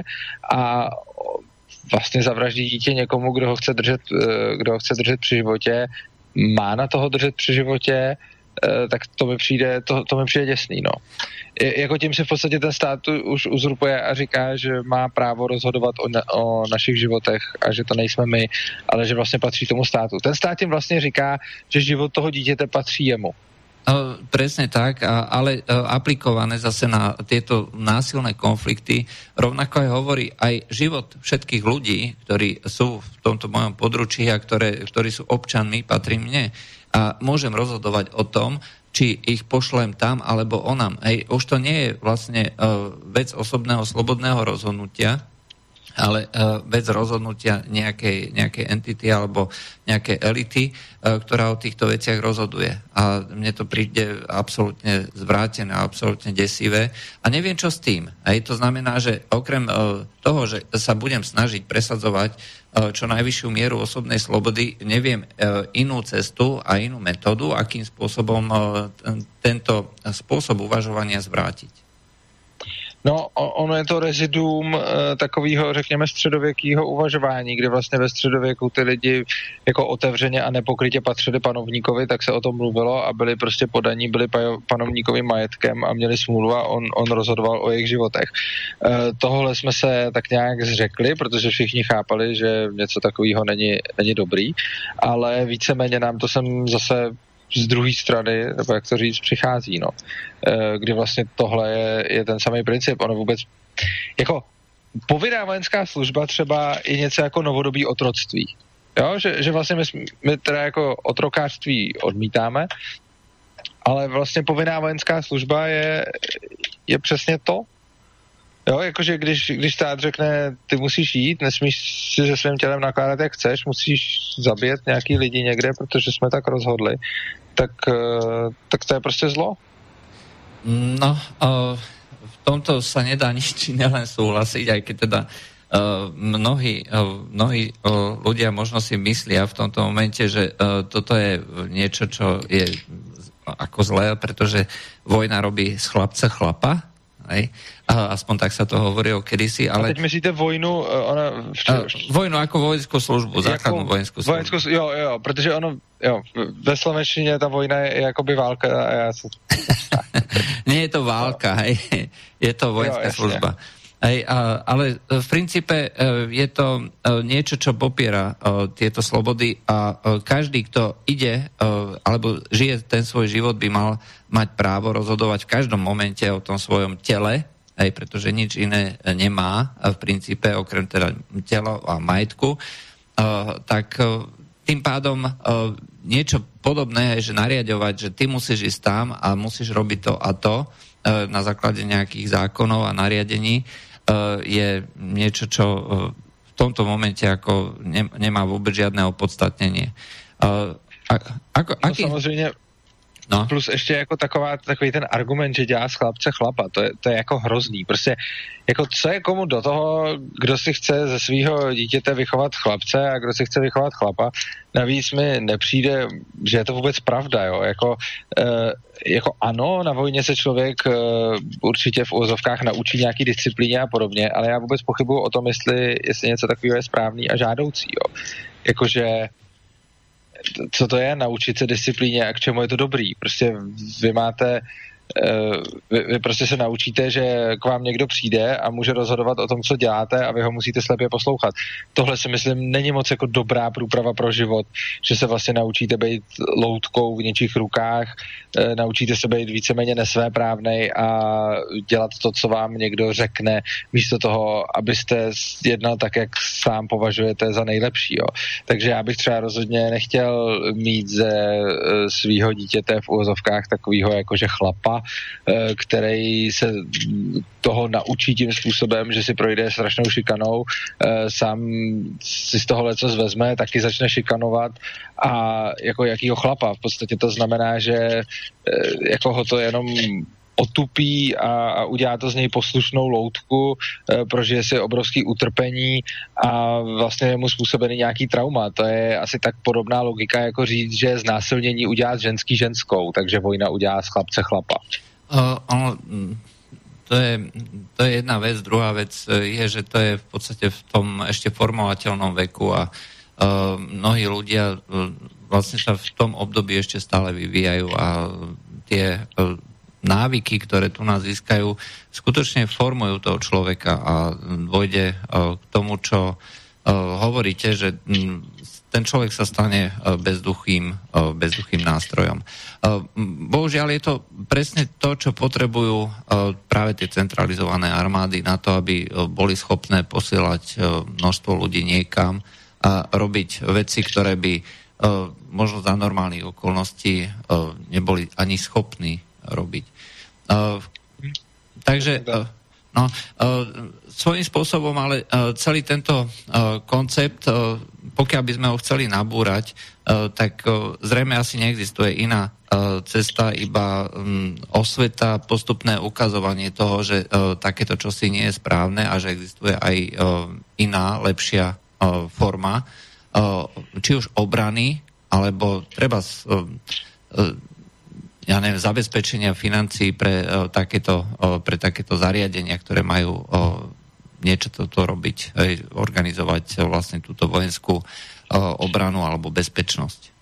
[SPEAKER 2] a vlastně zavraždí dítě někomu, kdo ho chce držet, kdo ho chce držet při životě, má na toho držet při životě, tak to mi přijde, to, to mi přijde děsný, no. Je, jako tím si v podstatě ten stát už uzurpuje a říká, že má právo rozhodovat o, na, o našich životech a že to nejsme my, ale že vlastně patří tomu státu. Ten stát tím vlastně říká, že život toho dítěte patří jemu.
[SPEAKER 1] Uh, presne tak, a, ale uh, aplikované zase na tieto násilné konflikty, rovnako aj hovorí aj život všetkých ľudí, ktorí sú v tomto mojom područí a ktoré, ktorí sú občanmi, patrí mne. A môžem rozhodovať o tom, či ich pošlem tam alebo onam. Hej, už to nie je vlastne uh, vec osobného slobodného rozhodnutia, ale uh, vec rozhodnutia nejakej, nejakej entity alebo nejakej elity, uh, ktorá o týchto veciach rozhoduje. A mne to príde absolútne zvrátené, absolútne desivé. A neviem, čo s tým. Aj to znamená, že okrem uh, toho, že sa budem snažiť presadzovať uh, čo najvyššiu mieru osobnej slobody, neviem uh, inú cestu a inú metódu, akým spôsobom uh, t- tento spôsob uvažovania zvrátiť.
[SPEAKER 2] No, ono je to reziduum e, takového, řekněme, středověkého uvažování, kdy vlastně ve středověku ty lidi jako otevřeně a nepokrytě patřili panovníkovi, tak se o tom mluvilo a byli prostě podaní, byli panovníkovým majetkem a měli smůlu a on, on rozhodoval o jejich životech. E, tohle jsme se tak nějak zřekli, protože všichni chápali, že něco takového není, není dobrý, ale víceméně nám to sem zase z druhé strany, nebo jak to říct, přichází, no. E, kdy vlastně tohle je, je ten samý princip. Ono vůbec, jako povinná vojenská služba třeba je něco jako novodobý otroctví. Jo, že, že vlastně my, my teda jako otrokářství odmítáme, ale vlastně povinná vojenská služba je, je přesně to. Jo, jakože když, když stát řekne, ty musíš jít, nesmíš si se svým tělem nakládat, jak chceš, musíš zabít nějaký lidi někde, protože jsme tak rozhodli, tak, tak to je prostě zlo.
[SPEAKER 1] No, v tomto sa nedá nič nelen súhlasiť, aj keď teda mnohí, mnohí ľudia možno si myslia v tomto momente, že toto je niečo, čo je ako zlé, pretože vojna robí z chlapca chlapa, hej? A aspoň tak sa to hovorilo kedysi, ale...
[SPEAKER 2] A teď myslíte vojnu... Ona...
[SPEAKER 1] Uh, vojnu ako vojenskú službu, základnú vojenskú službu.
[SPEAKER 2] Vojenskou, jo, jo, protože ono, jo, ve slovenštině ta vojna je, je jakoby válka a já se...
[SPEAKER 1] Nie je to válka, hej, je to vojenská jo, služba. Hej, a, ale v princípe je to niečo, čo popiera tieto slobody a každý, kto ide alebo žije ten svoj život, by mal mať právo rozhodovať v každom momente o tom svojom tele, aj pretože nič iné nemá v princípe okrem teda tela a majetku, tak tým pádom niečo podobné je, že nariadovať, že ty musíš ísť tam a musíš robiť to a to na základe nejakých zákonov a nariadení, je niečo, čo v tomto momente ako nemá vôbec žiadne opodstatnenie. Ako,
[SPEAKER 2] no aký... samozřejmě no. Plus ještě jako taková, takový ten argument, že dělá z chlapce chlapa, to je, to je jako hrozný. Prostě jako co je komu do toho, kdo si chce ze svého dítěte vychovat chlapce a kdo si chce vychovat chlapa. Navíc mi nepřijde, že je to vůbec pravda, jo. Jako, e, jako ano, na vojně se člověk e, určitě v úvozovkách naučí nějaký disciplíně a podobně, ale já vůbec pochybuju o tom, jestli, jestli něco takového je správný a žádoucí, jo. Jakože co to je naučit se disciplíně a k čemu je to dobrý. Prostě vy máte vy, vy prostě se naučíte, že k vám někdo přijde a může rozhodovat o tom, co děláte a vy ho musíte slepě poslouchat. Tohle si myslím není moc jako dobrá průprava pro život, že se vlastně naučíte být loutkou v něčích rukách, naučíte se být víceméně nesvéprávnej a dělat to, co vám někdo řekne, místo toho, abyste jednal tak, jak sám považujete za nejlepší. Jo. Takže já bych třeba rozhodně nechtěl mít ze svýho dítěte v uvozovkách takovýho jakože chlapa, který se toho naučí tím způsobem, že si projde strašnou šikanou, sám si z toho leco zvezme, taky začne šikanovat a jako jakýho chlapa. V podstatě to znamená, že jako ho to jenom otupí a, a udělá to z něj poslušnou loutku, e, prožije si obrovský utrpení a vlastně je mu způsobený nějaký trauma. To je asi tak podobná logika, jako říct, že znásilnění udělá z ženský ženskou, takže vojna udělá z chlapce chlapa.
[SPEAKER 1] Uh, ono, to, je, to je jedna vec. Druhá vec je, že to je v podstate v tom ešte formovateľnom veku a uh, mnohí ľudia uh, vlastne sa v tom období ešte stále vyvíjajú a tie uh, návyky, ktoré tu nás získajú, skutočne formujú toho človeka a dôjde k tomu, čo hovoríte, že ten človek sa stane bezduchým, bezduchým nástrojom. Bohužiaľ je to presne to, čo potrebujú práve tie centralizované armády na to, aby boli schopné posielať množstvo ľudí niekam a robiť veci, ktoré by možno za normálnych okolností neboli ani schopní robiť. Uh, takže uh, no, uh, svojím spôsobom, ale uh, celý tento uh, koncept, uh, pokiaľ by sme ho chceli nabúrať, uh, tak uh, zrejme asi neexistuje iná uh, cesta, iba um, osveta, postupné ukazovanie toho, že uh, takéto čosi nie je správne a že existuje aj uh, iná, lepšia uh, forma, uh, či už obrany, alebo treba uh, uh, ja neviem, zabezpečenia financií pre, uh, takéto, uh, pre takéto zariadenia, ktoré majú uh, niečo toto robiť, aj organizovať uh, vlastne túto vojenskú uh, obranu alebo bezpečnosť.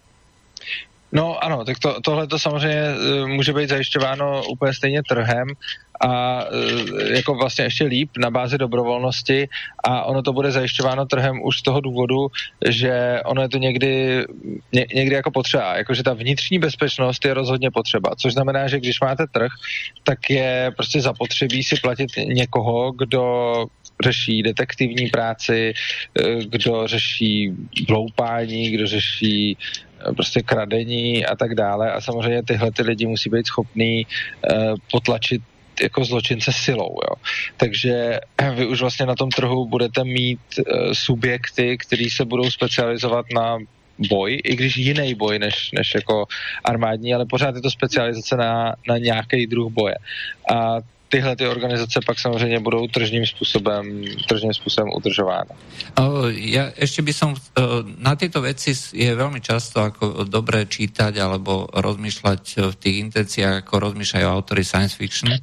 [SPEAKER 2] No ano, tak to, tohle to samozřejmě může být zajišťováno úplně stejně trhem a jako vlastně ještě líp na bázi dobrovolnosti a ono to bude zajišťováno trhem už z toho důvodu, že ono je to někdy, ně, někdy jako potřeba, jakože ta vnitřní bezpečnost je rozhodně potřeba, což znamená, že když máte trh, tak je prostě zapotřebí si platit někoho, kdo řeší detektivní práci, kdo řeší vloupání, kdo řeší prostě kradení a tak dále a samozřejmě tyhle ty lidi musí být schopný uh, potlačit jako zločince silou, jo. Takže vy už vlastně na tom trhu budete mít uh, subjekty, který se budou specializovat na boj, i když jiný boj než, než jako armádní, ale pořád je to specializace na, na nějaký druh boje. A tyhle ty organizace pak samozřejmě budou tržním způsobem, tržním způsobem udržovány.
[SPEAKER 1] Ja ešte by som, na tieto veci je veľmi často ako dobré čítať alebo rozmýšľať v tých intenciách, ako rozmýšľajú autori science fiction.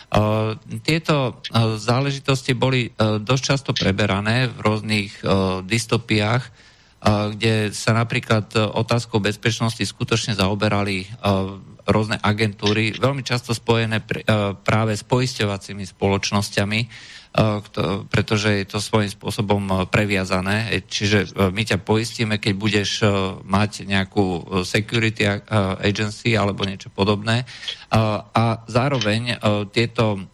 [SPEAKER 1] Tieto záležitosti boli dosť často preberané v rôznych dystopiách, kde sa napríklad otázkou bezpečnosti skutočne zaoberali rôzne agentúry, veľmi často spojené pr- práve s poisťovacími spoločnosťami, pretože je to svojím spôsobom previazané. Čiže my ťa poistíme, keď budeš mať nejakú security agency alebo niečo podobné. A zároveň tieto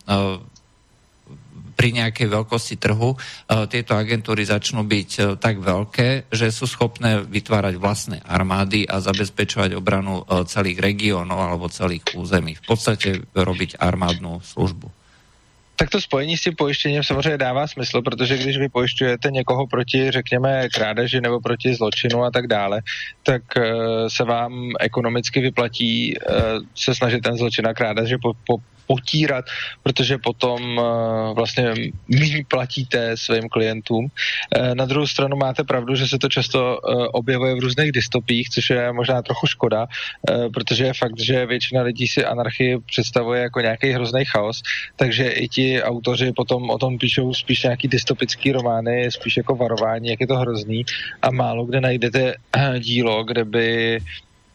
[SPEAKER 1] pri nejakej veľkosti trhu tieto agentúry začnú byť tak veľké, že sú schopné vytvárať vlastné armády a zabezpečovať obranu celých regiónov alebo celých území. V podstate robiť armádnu službu.
[SPEAKER 2] Tak to spojení s tím pojištěním samozřejmě dává smysl, protože když vy pojišťujete někoho proti, řekněme, krádeži nebo proti zločinu a tak dále, tak uh, se vám ekonomicky vyplatí uh, se snažit ten zločin a krádeže po, po, potírat, protože potom uh, vlastně méně platíte svým klientům. Uh, na druhou stranu máte pravdu, že se to často uh, objevuje v různých dystopích, což je možná trochu škoda, uh, protože je fakt, že většina lidí si anarchii představuje jako nějaký hrozný chaos, takže i ti autoři potom o tom píšou spíš nějaký dystopický romány, spíš jako varování, jak je to hrozný a málo kde najdete dílo, kde by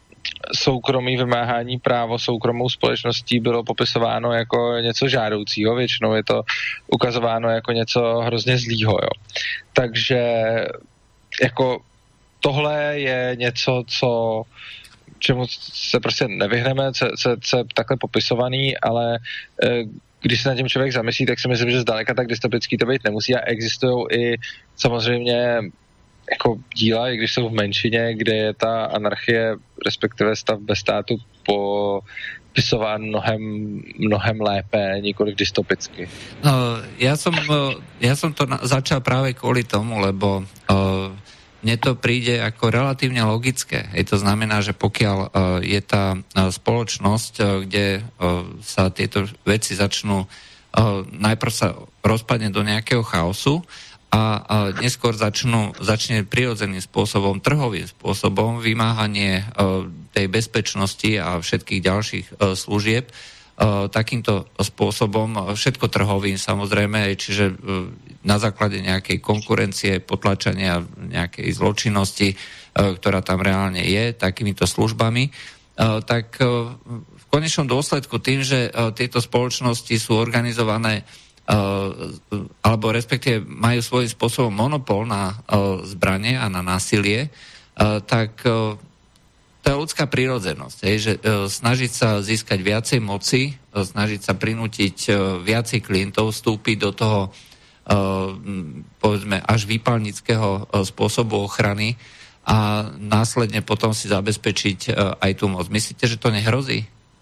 [SPEAKER 2] soukromí vymáhání právo soukromou společností bylo popisováno jako něco žádoucího, většinou je to ukazováno jako něco hrozně zlýho, jo. Takže jako tohle je něco, co čemu se prostě nevyhneme, co, co, co je takhle popisovaný, ale e, když se na tím člověk zamyslí, tak si myslím, že zdaleka tak dystopický to být nemusí a existují i samozřejmě jako díla, i když jsou v menšině, kde je ta anarchie, respektive stav bez státu popisován mnohem, mnohem lépe, nikoliv dystopicky.
[SPEAKER 1] No, ja som, ja som to na, začal práve kvôli tomu, lebo uh, mne to príde ako relatívne logické. Je to znamená, že pokiaľ uh, je tá uh, spoločnosť, uh, kde uh, sa tieto veci začnú, uh, najprv sa rozpadne do nejakého chaosu a uh, neskôr začnú, začne prirodzeným spôsobom, trhovým spôsobom vymáhanie uh, tej bezpečnosti a všetkých ďalších uh, služieb uh, takýmto spôsobom, všetko trhovým samozrejme, čiže uh, na základe nejakej konkurencie, potlačania nejakej zločinnosti, ktorá tam reálne je, takýmito službami, tak v konečnom dôsledku tým, že tieto spoločnosti sú organizované alebo respektíve majú svojím spôsobom monopol na zbranie a na násilie, tak to je ľudská prírodzenosť, že snažiť sa získať viacej moci, snažiť sa prinútiť viacej klientov vstúpiť do toho povedzme až výpalnického spôsobu ochrany a následne potom si zabezpečiť aj tú moc. Myslíte, že to nehrozí?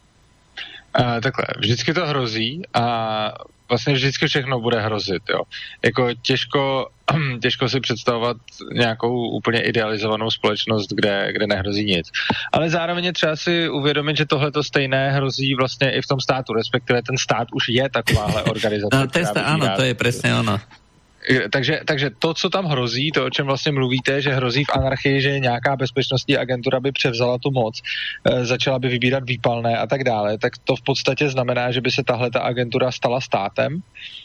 [SPEAKER 2] Uh, takhle, vždycky to hrozí a vlastně vždycky všechno bude hrozit, jo. Jako těžko, těžko si představovat nějakou úplně idealizovanou společnost, kde, kde nehrozí nic. Ale zároveň je třeba si uvědomit, že tohle to stejné hrozí vlastně i v tom státu, respektive ten stát už je takováhle organizace.
[SPEAKER 1] No, testa, áno, to je presne ono.
[SPEAKER 2] Takže, takže to, co tam hrozí, to, o čem vlastně mluvíte, že hrozí v anarchii, že nějaká bezpečnostní agentura by převzala tu moc, e, začala by vybírat výpalné a tak dále, tak to v podstatě znamená, že by se tahle ta agentura stala státem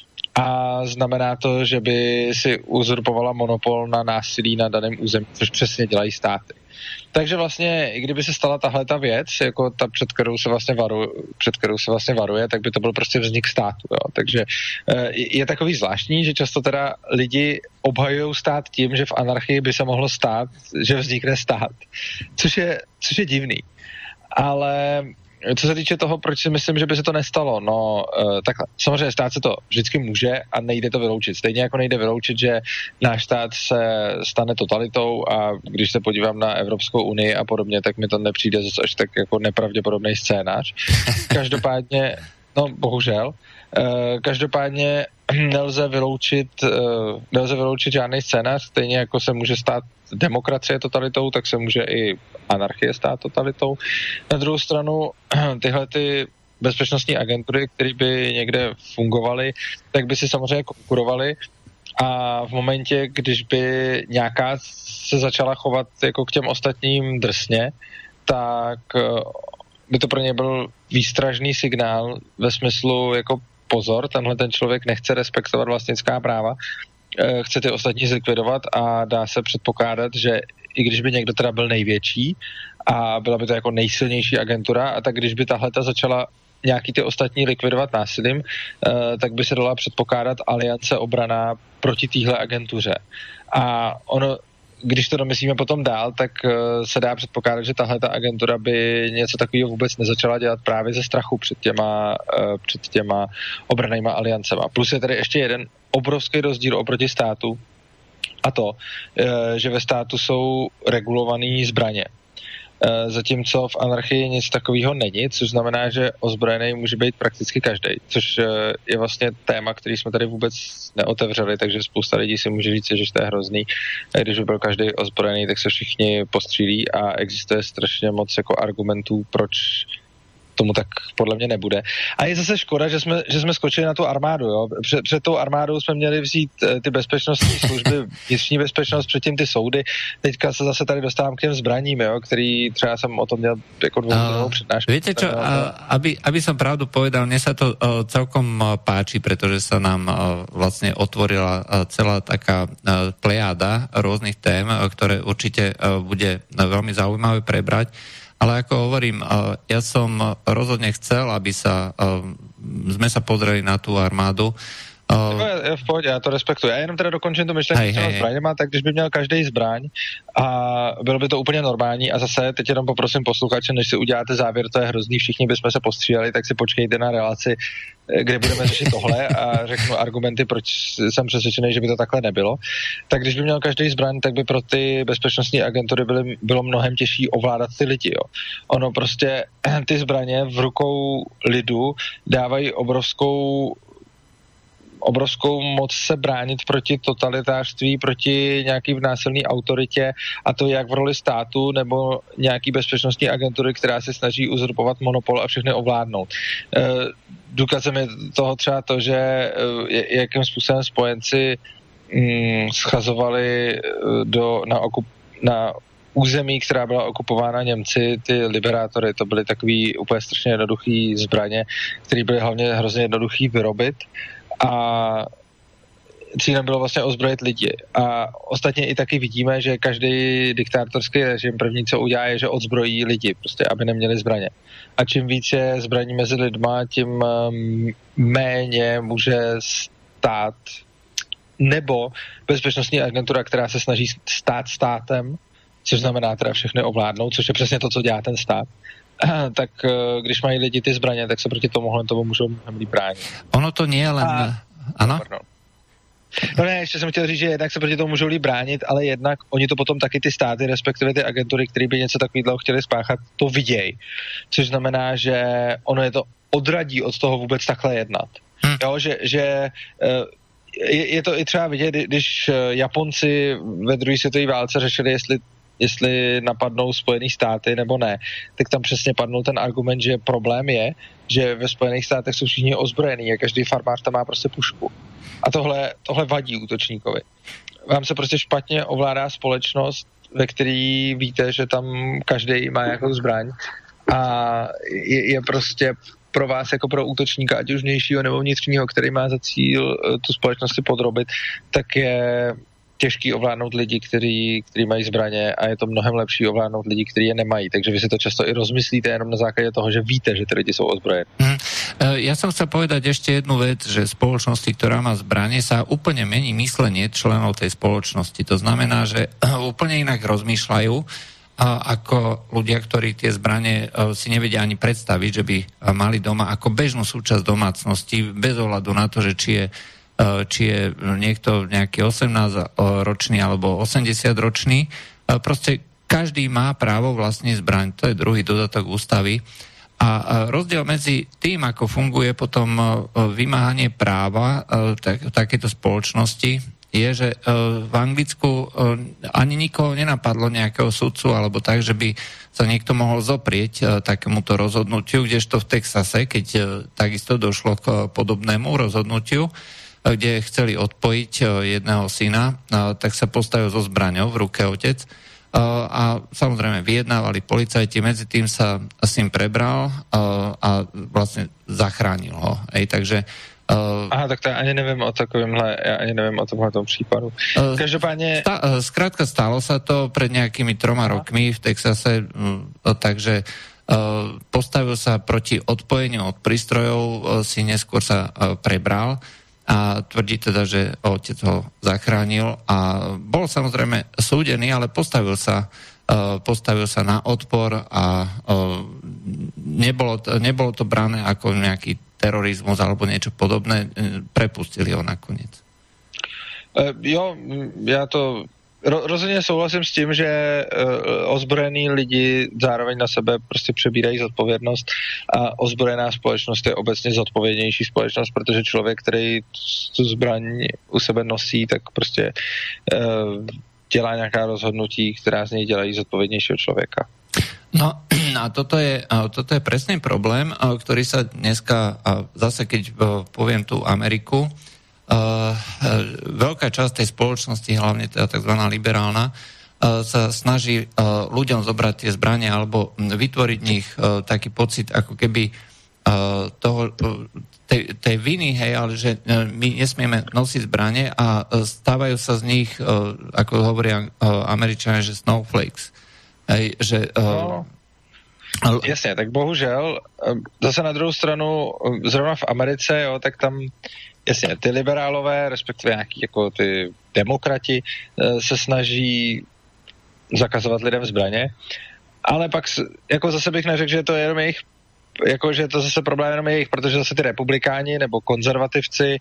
[SPEAKER 2] a znamená to, že by si uzurpovala monopol na násilí na daném území, což přesně dělají státy. Takže vlastně, i kdyby se stala tahle ta věc, jako ta, před kterou se vlastně varuje, před kterou se vlastně varuje, tak by to byl prostě vznik státu. Jo. Takže je, je takový zvláštní, že často teda lidi obhajují stát tím, že v anarchii by se mohlo stát, že vznikne stát. Což je, což je divný. Ale co se týče toho, proč si myslím, že by se to nestalo, no takhle, samozřejmě stát se to vždycky může a nejde to vyloučit. Stejně jako nejde vyloučit, že náš stát se stane totalitou a když se podívám na Evropskou unii a podobně, tak mi to nepřijde zase až tak jako nepravděpodobný scénář. Každopádně, no bohužel, každopádně nelze vyloučit, nelze vyloučit žádný scénář, stejně jako se může stát demokracie totalitou, tak se může i anarchie stát totalitou. Na druhou stranu tyhle ty bezpečnostní agentury, které by někde fungovaly, tak by si samozřejmě konkurovaly a v momentě, když by nějaká se začala chovat jako k těm ostatním drsně, tak by to pro ně byl výstražný signál ve smyslu jako pozor, tenhle ten člověk nechce respektovat vlastnická práva, chce ty ostatní zlikvidovat a dá se předpokládat, že i když by někdo teda byl největší a byla by to jako nejsilnější agentura, a tak když by tahleta začala nějaký ty ostatní likvidovat násilím, tak by se dala předpokládat aliance obraná proti téhle agentuře. A ono, když to domyslíme potom dál, tak se dá předpokládat, že tahle ta agentura by něco takového vůbec nezačala dělat právě ze strachu před těma, před těma obrannýma aliancema. Plus je tady ještě jeden obrovský rozdíl oproti státu a to, že ve státu jsou regulované zbraně. Zatímco v anarchii nic takového není, což znamená, že ozbrojený může být prakticky každý, což je vlastně téma, který jsme tady vůbec neotevřeli, takže spousta lidí si může říct, že to je hrozný. Když by byl každý ozbrojený, tak se všichni postřílí a existuje strašně moc jako argumentů, proč tomu tak podle mě nebude. A je zase škoda, že jsme, že jsme skočili na tu armádu. Jo? Před, před tou armádou jsme měli vzít ty bezpečnostní služby, vnitřní bezpečnost, předtím ty soudy. Teďka se zase tady dostávám k těm zbraním, jo? Který třeba jsem o tom měl jako dvouhodinovou přednášku.
[SPEAKER 1] Viete čo, a, aby, aby som pravdu povedal, mne sa to uh, celkom uh, páči, pretože sa nám uh, vlastne otvorila uh, celá taká uh, plejáda rôznych tém, uh, ktoré určite uh, bude uh, veľmi zaujímavé prebrať. Ale ako hovorím, ja som rozhodne chcel, aby sa, sme sa pozreli na tú armádu.
[SPEAKER 2] Uh, je, je v pohodě, já to respektuji. Já jenom teda dokončím to myšlenku s těma zbraněma, tak když by měl každý zbraň a bylo by to úplně normální a zase teď jenom poprosím posluchače, než si uděláte závěr, to je hrozný, všichni bychom se postříleli, tak si počkejte na relaci, kde budeme řešit tohle a řeknu argumenty, proč jsem přesvědčený, že by to takhle nebylo. Tak když by měl každý zbraň, tak by pro ty bezpečnostní agentury byly, bylo mnohem těžší ovládat ty lidi. Jo. Ono prostě ty zbraně v rukou lidu dávají obrovskou obrovskou moc se bránit proti totalitářství, proti nějaký násilné autoritě, a to jak v roli státu nebo nějaký bezpečnostní agentury, která se snaží uzurpovat monopol a všechny ovládnout. E, důkazem je toho třeba to, že e, jakým způsobem spojenci mm, schazovali do, na, okup, na území, která byla okupována Němci, ty liberátory, to byly takový úplně strašně jednoduchý zbraně, které byly hlavně hrozně jednoduchý vyrobit. A cílem bylo vlastně ozbrojit lidi. A ostatně i taky vidíme, že každý diktátorský režim první, co udělá, je, že odzbrojí lidi, prostě, aby neměli zbraně. A čím víc je zbraní mezi lidma, tím méně může stát nebo bezpečnostní agentura, která se snaží stát státem, což znamená teda všechny ovládnout, což je přesně to, co dělá ten stát, tak když mají lidi ty zbraně, tak se proti tomu tomu můžou mnohem líp bránit.
[SPEAKER 1] Ono to nie je len... A... Ano?
[SPEAKER 2] No ne, ještě jsem chtěl říct, že jednak se proti tomu můžou líp bránit, ale jednak oni to potom taky ty státy, respektive ty agentury, které by něco takového chtěli spáchat, to vidějí. Což znamená, že ono je to odradí od toho vůbec takhle jednat. Hm. Jo, že, že je, je to i třeba vidět, když Japonci ve druhé světové válce řešili, jestli jestli napadnou Spojené státy nebo ne, tak tam přesně padnul ten argument, že problém je, že ve Spojených státech jsou všichni ozbrojení a každý farmář tam má prostě pušku. A tohle, tohle vadí útočníkovi. Vám se prostě špatně ovládá společnost, ve který víte, že tam každý má nějakou zbraň a je, je prostě pro vás jako pro útočníka, ať už vnějšího nebo vnitřního, který má za cíl tu společnost si podrobit, tak je těžký ovládnout lidi, kteří, kteří mají zbraně, a je to mnohem lepší ovládnout lidi, kteří je nemají. Takže vy si to často i rozmyslíte jenom na základě toho, že víte, že ty lidi jsou ozbrojení.
[SPEAKER 1] Mm. Ja som chcel povedať ešte jednu vec, že spoločnosti, ktorá má zbranie, sa úplne mení myslenie členov tej spoločnosti. To znamená, že úplne inak rozmýšľajú ako ľudia, ktorí tie zbranie si nevedia ani predstaviť, že by mali doma ako bežnú súčasť domácnosti, bez ohľadu na to, že či je či je niekto nejaký osemnásťročný alebo osemdesiatročný. Proste každý má právo vlastniť zbraň. To je druhý dodatok ústavy. A rozdiel medzi tým, ako funguje potom vymáhanie práva v takejto spoločnosti, je, že v Anglicku ani nikoho nenapadlo nejakého sudcu alebo tak, že by sa niekto mohol zoprieť takémuto rozhodnutiu, kdežto v Texase, keď takisto došlo k podobnému rozhodnutiu, kde chceli odpojiť jedného syna, tak sa postavil so zbraňou v ruke otec a samozrejme vyjednávali policajti, medzi tým sa syn prebral a vlastne zachránil ho. Ej, takže
[SPEAKER 2] Aha, tak to ja ani neviem o takovémhle, ja ani neviem o tomhletom prípadu. Každopádne...
[SPEAKER 1] Sta, skrátka stalo sa to pred nejakými troma Aha. rokmi v Texase, takže postavil sa proti odpojeniu od prístrojov, si neskôr sa prebral a tvrdí teda, že otec ho zachránil a bol samozrejme súdený, ale postavil sa, postavil sa na odpor a nebolo to, nebolo to brané ako nejaký terorizmus alebo niečo podobné, prepustili ho nakoniec.
[SPEAKER 2] Jo, ja to rozhodně souhlasím s tím, že ozbrojení lidi zároveň na sebe prostě přebírají zodpovědnost a ozbrojená společnost je obecně zodpovědnější společnost, protože člověk, který tu zbraň u sebe nosí, tak prostě dělá nějaká rozhodnutí, která z něj dělají zodpovědnějšího člověka.
[SPEAKER 1] No a toto je, toto je presný problém, ktorý sa dneska, zase keď poviem tú Ameriku, Uh, veľká časť tej spoločnosti, hlavne teda tzv. Liberálna, uh, sa snaží uh, ľuďom zobrať tie zbranie alebo vytvoriť v nich uh, taký pocit, ako keby uh, toho, uh, tej, tej viny, hej, ale že uh, my nesmieme nosiť zbranie a uh, stávajú sa z nich, uh, ako hovoria uh, Američania, že snowflakes. Hej, že uh,
[SPEAKER 2] Ale... Jasně, tak bohužel, zase na druhou stranu, zrovna v Americe, jo, tak tam, jasně, ty liberálové, respektive nějaký jako ty demokrati, se snaží zakazovat lidem zbraně, ale pak jako zase bych neřekl, že to je jenom jejich, jako že to zase problém jenom jejich, protože zase ty republikáni nebo konzervativci,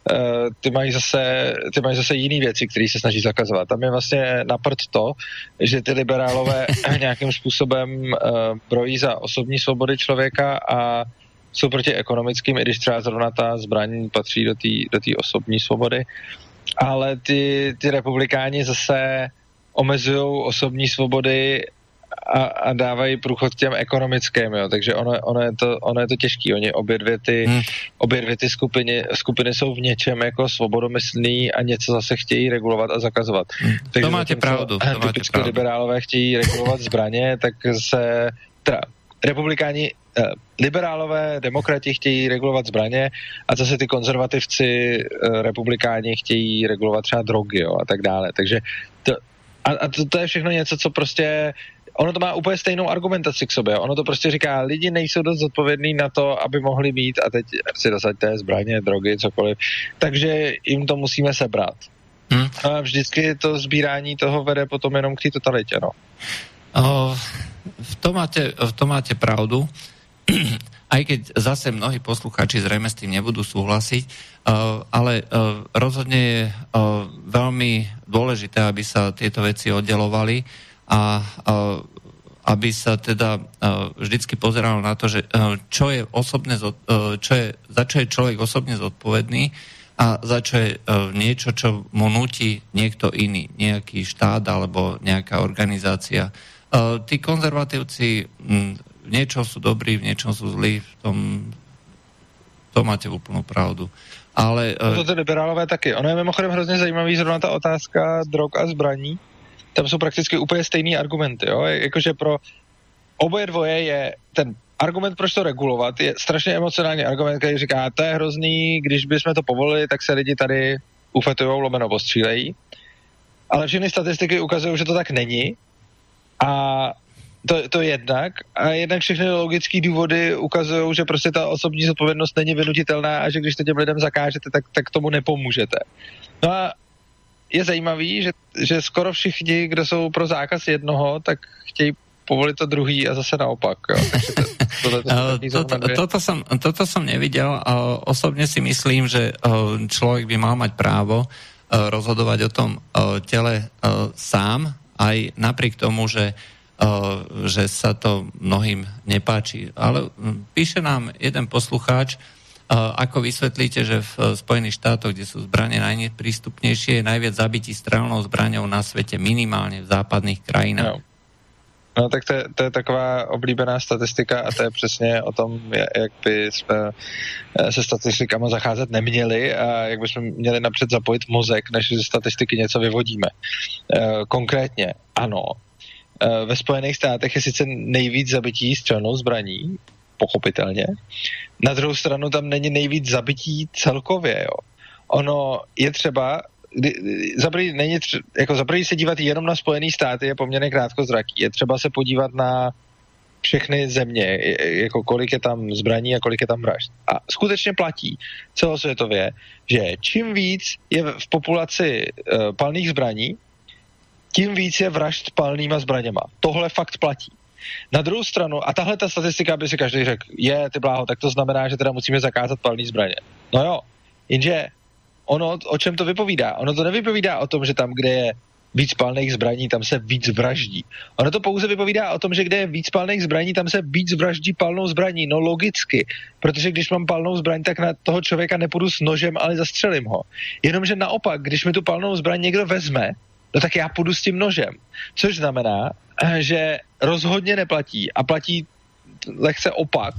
[SPEAKER 2] ty mají zase, ty mají zase jiný věci, které se snaží zakazovat. Tam je vlastně napřed to, že ty liberálové nějakým způsobem brojí za osobní svobody člověka a jsou proti ekonomickým, i když třeba zrovna ta zbraň patří do té do té osobní svobody, ale ty, ty republikáni zase omezují osobní svobody a, a dávají průchod těm ekonomickým, jo. Takže ono, ono, je to, ono je to těžký. Oni obě dvě ty, hmm. obě dvě ty skupiny, skupiny jsou v něčem jako svobodomyslný a něco zase chtějí regulovat a zakazovat.
[SPEAKER 1] Hmm. Takže to máte pravdu. To
[SPEAKER 2] typicky máte liberálové chtějí regulovat zbraně, tak se teda, republikáni, eh, liberálové, demokrati chtějí regulovat zbraně a zase ty konzervativci, eh, republikáni chtějí regulovat třeba drogy, jo, a tak dále. Takže to, a, a to, to je všechno něco, co prostě ono to má úplně stejnou argumentaci k sobě. Ono to prostě říká, lidi nejsou dost zodpovědní na to, aby mohli mít a teď si dosaďte zbraně, drogy, cokoliv. Takže jim to musíme sebrat. Hmm. A vždycky to sbírání toho vede potom jenom k té totalitě, no.
[SPEAKER 1] O, v, tom máte, v tom máte pravdu. Aj keď zase mnohí poslucháči zrejme s tým nebudú súhlasiť, uh, ale uh, rozhodne je uh, veľmi dôležité, aby sa tieto veci oddelovali a uh, aby sa teda uh, vždycky pozeralo na to, že uh, čo je osobne, uh, čo je, za čo je človek osobne zodpovedný a za čo je uh, niečo, čo mu núti niekto iný, nejaký štát alebo nejaká organizácia. Uh, tí konzervatívci m, v niečom sú dobrí, v niečom sú zlí, v tom to máte úplnou pravdu. Ale... Uh...
[SPEAKER 2] To ty liberálové taky. Ono je mimochodem hrozně zajímavý zrovna ta otázka drog a zbraní. Tam jsou prakticky úplně stejný argumenty, jo? Jakože pro oboje dvoje je ten argument, proč to regulovat, je strašně emocionální argument, který říká, to je hrozný, když bychom to povolili, tak se lidi tady ufetujou, lomeno postřílejí. Ale všechny statistiky ukazují, že to tak není. A to, to jednak. A jednak všechny logické důvody ukazují, že prostě ta osobní zodpovědnost není vynutitelná a že když to těm lidem zakážete, tak, tak tomu nepomůžete. No a je zajímavý, že, že skoro všichni, kdo jsou pro zákaz jednoho, tak chtějí povolit to druhý a zase naopak. Jo. To, to,
[SPEAKER 1] to, to, toto, som, toto som nevidel a osobne si myslím, že človek by mal mať právo rozhodovať o tom tele sám, aj napriek tomu, že, že sa to mnohým nepáči. Ale píše nám jeden poslucháč, ako vysvetlíte, že v Spojených štátoch, kde sú zbrane najneprístupnejšie, je najviac zabití strelnou zbraňou na svete, minimálne v západných krajinách.
[SPEAKER 2] No. No tak to je, to je taková oblíbená statistika a to je přesně o tom, jak by jsme se statistikama zacházet neměli a jak bychom měli napřed zapojit mozek, než ze statistiky něco vyvodíme. Konkrétně, ano, ve Spojených státech je sice nejvíc zabití střelnou zbraní, pochopitelně, na druhou stranu tam není nejvíc zabití celkově, jo. Ono je třeba Zaprý, není tři, jako zaprý se dívat jenom na Spojené státy je poměrně krátkozraký. Je třeba se podívat na všechny země, jako kolik je tam zbraní a kolik je tam vražd. A skutečně platí celosvětově, že čím víc je v populaci uh, palných zbraní, tím víc je vražd palnýma zbraněma. Tohle fakt platí. Na druhou stranu, a tahle ta statistika by si každý řekl, je, ty bláho, tak to znamená, že teda musíme zakázat palný zbraně. No jo, jenže ono, o čem to vypovídá? Ono to nevypovídá o tom, že tam, kde je víc palných zbraní, tam se víc vraždí. Ono to pouze vypovídá o tom, že kde je víc palných zbraní, tam se víc vraždí palnou zbraní. No logicky, protože když mám palnou zbraň, tak na toho člověka nepůjdu s nožem, ale zastřelím ho. Jenomže naopak, když mi tu palnou zbraň někdo vezme, no tak já půjdu s tím nožem. Což znamená, že rozhodně neplatí a platí lehce opak,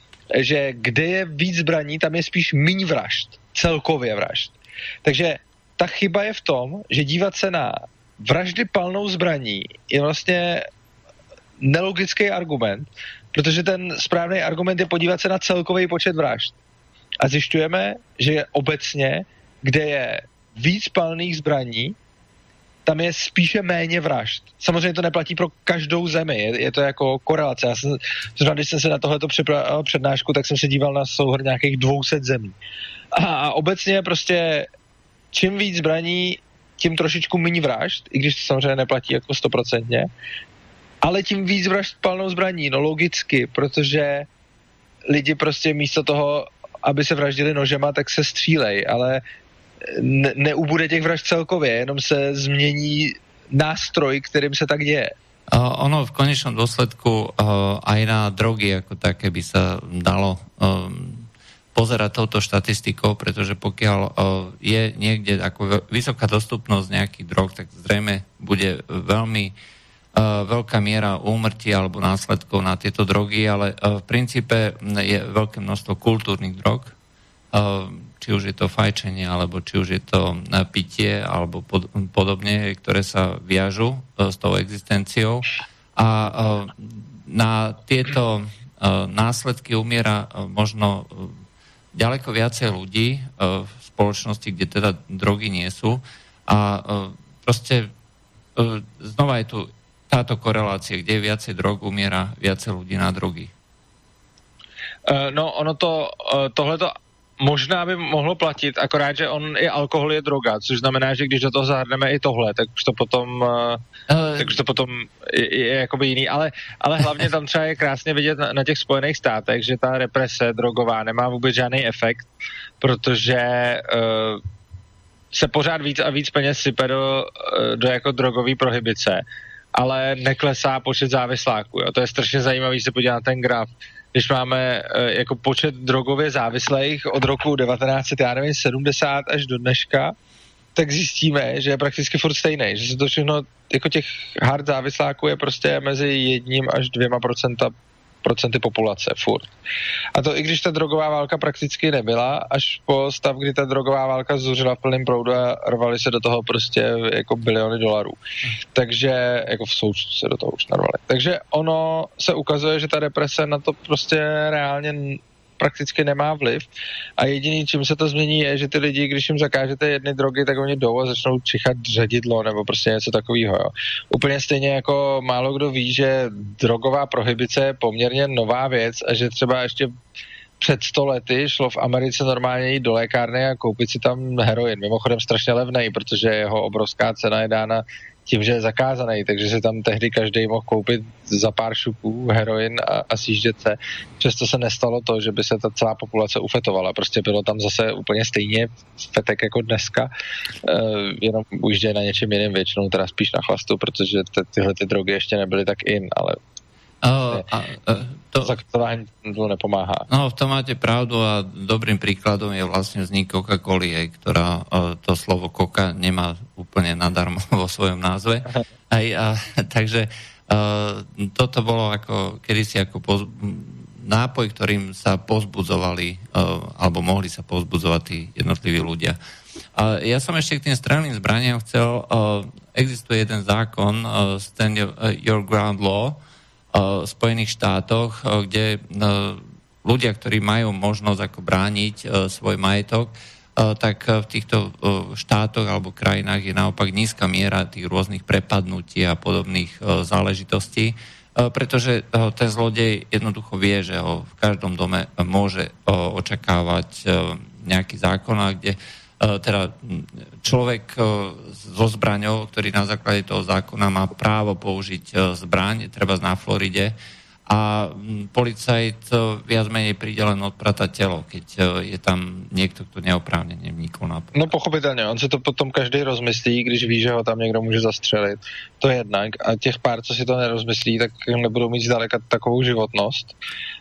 [SPEAKER 2] že kde je víc zbraní, tam je spíš míň vražd. Celkově vražd. Takže ta chyba je v tom, že dívat se na vraždy palnou zbraní je vlastně nelogický argument, protože ten správný argument je podívat se na celkový počet vražd. A zjišťujeme, že obecně, kde je víc palných zbraní, tam je spíše méně vražd. Samozřejmě to neplatí pro každou zemi, je, je to jako korelace. Já jsem, zrovna když jsem se na tohleto připravil přednášku, tak jsem se díval na souhrn nějakých dvě stě zemí. A, a obecně prostě čím víc zbraní, tím trošičku méně vražd, i když to samozřejmě neplatí jako stoprocentně, ale tím víc vražd palnou zbraní, no logicky, protože lidi prostě místo toho, aby se vraždili nožema, tak se střílej, ale ne, neubude těch vražd celkově, jenom se změní nástroj, kterým se tak děje.
[SPEAKER 1] Uh, ono v konečnom dôsledku uh, aj na drogy ako také by sa dalo um, pozerať touto štatistikou, pretože pokiaľ uh, je niekde ako vysoká dostupnosť nejakých drog, tak zrejme bude veľmi uh, veľká miera úmrtí alebo následkov na tieto drogy, ale uh, v princípe je veľké množstvo kultúrnych drog, uh, či už je to fajčenie, alebo či už je to pitie, alebo pod, podobne, ktoré sa viažu uh, s tou existenciou. A uh, na tieto uh, následky umiera uh, možno uh, ďaleko viacej ľudí uh, v spoločnosti, kde teda drogy nie sú. A uh, proste uh, znova je tu táto korelácia, kde je viacej drog, umiera viacej ľudí na drogy.
[SPEAKER 2] Uh, no, ono to, uh, tohleto možná by mohlo platit, akorát, že on i alkohol je droga, což znamená, že když do toho zahrneme i tohle, tak už to potom, uh, tak už to potom je, je jakoby jiný, ale, ale hlavně tam třeba je krásně vidět na, na těch Spojených státech, že ta represe drogová nemá vůbec žádný efekt, protože uh, se pořád víc a víc peněz sype do, do jako drogové prohibice, ale neklesá počet závisláků. Jo. To je strašně zajímavý se podívat na ten graf. Když máme jako počet drogově závislých od roku devatenáct set sedmdesát až do dneška, tak zjistíme, že je prakticky furt stejný, že se to všechno, jako těch hard závisláků je prostě mezi jedním až dvěma procenta, procenty populace furt. A to i když ta drogová válka prakticky nebyla, až po stav, kdy ta drogová válka zuřila v plném proudu a rvali se do toho prostě jako biliony dolarů. Takže, jako v součtu se do toho už narvali. Takže ono se ukazuje, že ta represe na to prostě reálně prakticky nemá vliv a jediný, čím se to změní, je, že ty lidi, když jim zakážete jedny drogy, tak oni jdou a začnou čichat ředidlo nebo prostě něco takového. Jo. Úplně stejně jako málo kdo ví, že drogová prohibice je poměrně nová věc a že třeba ještě před sto lety šlo v Americe normálně jít do lékárny a koupit si tam heroin. Mimochodem strašně levnej, protože jeho obrovská cena je dána tím, že je zakázaný, takže si tam tehdy každý mohl koupit za pár šupů heroin a, a sjíždět se. Přesto se nestalo to, že by se ta celá populace ufetovala. Prostě bylo tam zase úplně stejně fetek jako dneska, uh, jenom ujíždějí na něčem jiným, většinou teda spíš na chlastu, protože ty, tyhle ty drogy ještě nebyly tak in, ale
[SPEAKER 1] Uh, a, uh, to,
[SPEAKER 2] zakazování to nepomáhá.
[SPEAKER 1] No, v tom máte pravdu a dobrým príkladom je vlastne vznik Coca-Coly, ktorá uh, to slovo Coca nemá úplne nadarmo vo svojom názve. Aj, a, takže uh, toto bolo ako kedysi ako poz, nápoj, ktorým sa pozbudzovali uh, alebo mohli sa pozbudzovať tí jednotliví ľudia. Uh, ja som ešte k tým strelným zbraniam chcel, uh, existuje jeden zákon, uh, Stand Your Ground Law, v Spojených štátoch, kde ľudia, ktorí majú možnosť ako brániť svoj majetok, tak v týchto štátoch alebo krajinách je naopak nízka miera tých rôznych prepadnutí a podobných záležitostí, pretože ten zlodej jednoducho vie, že ho v každom dome môže očakávať nejaký zákon, kde teda človek so zbraňou, ktorý na základe toho zákona má právo použiť zbraň, treba na Floride, a policajt viac menej príde len odpratať telo, keď je tam niekto, kto neoprávnene vnikol na policajt.
[SPEAKER 2] No pochopitelně, on si to potom každý rozmyslí, když ví, že ho tam někdo může zastřelit. To jednak. A těch pár, co si to nerozmyslí, tak nebudou mít zdaleka takovou životnost.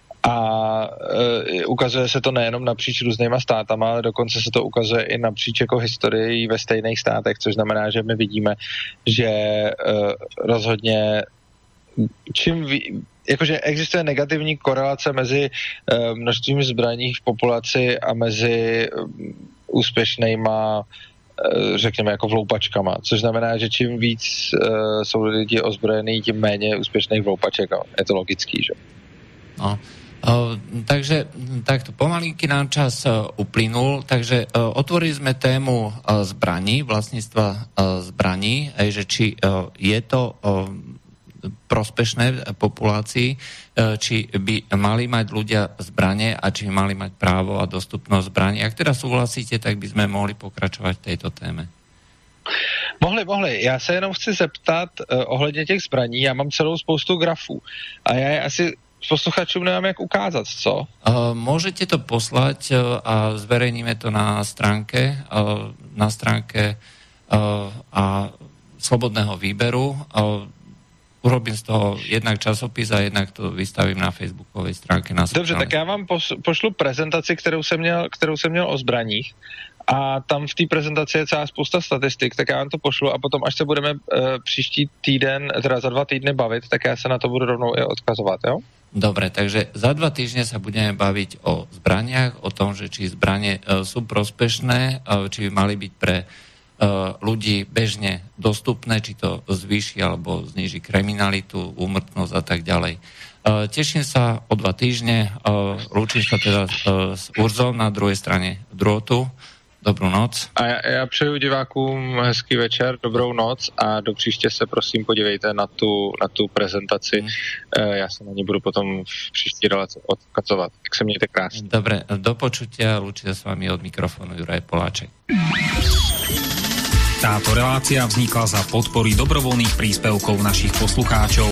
[SPEAKER 2] A e, ukazuje se to nejenom napříč různýma státama, ale dokonce se to ukazuje i napříč jako historii ve stejných státech, což znamená, že my vidíme, že e, rozhodně čím ví, jakože existuje negativní korelace mezi e, množstvím zbraní v populaci a mezi e, úspěšnýma e, řekněme jako vloupačkama, což znamená, že čím víc e, jsou lidi ozbrojený, tím méně úspěšných vloupaček. Je to logický, že?
[SPEAKER 1] No. Uh, takže takto pomalinky nám čas uh, uplynul, takže uh, otvorili sme tému uh, zbraní, vlastníctva uh, zbraní, aj, že či uh, je to uh, prospešné populácii, uh, či by mali mať ľudia zbranie a či mali mať právo a dostupnosť zbraní. Ak teda súhlasíte, tak by sme mohli pokračovať v tejto téme.
[SPEAKER 2] Mohli, mohli. Já se jenom chci zeptat uh, ohledně těch zbraní. Já mám celou spoustu grafů a já je asi posluchačům nemám jak ukázat, co?
[SPEAKER 1] Uh, môžete to poslať uh, a zverejníme to na stránke uh, na stránke uh, a Slobodného výberu. Uh, urobím z toho jednak časopis a jednak to vystavím na facebookovej stránke. Na
[SPEAKER 2] Dobře, tak já vám pošlu prezentaci, kterou jsem měl, kterou jsem měl o zbraních a tam v té prezentaci je celá spousta statistik, tak já vám to pošlu a potom, až se budeme uh, příští týden, teda za dva týdny bavit, tak já se na to budu rovnou i odkazovat, jo?
[SPEAKER 1] Dobre, takže za dva týždne sa budeme baviť o zbraniach, o tom, že či zbranie e, sú prospešné, e, či by mali byť pre e, ľudí bežne dostupné, či to zvýši alebo zníži kriminalitu, úmrtnosť a tak ďalej. E, teším sa o dva týždne, e, lúčim sa teda e, s Urzom na druhej strane drôtu. Dobrou noc.
[SPEAKER 2] A já, já přeju divákům hezký večer, dobrou noc a do příště se prosím podívejte na tu, na tu prezentaci. Hmm. Já se na ní budu potom v příští relaci odkazovat. Tak se mějte krásně.
[SPEAKER 1] Dobre, do počutia, lúčia s vami od mikrofónu Juraj Poláček.
[SPEAKER 3] Táto relácia vznikla za podpory dobrovoľných príspevkov našich poslucháčov.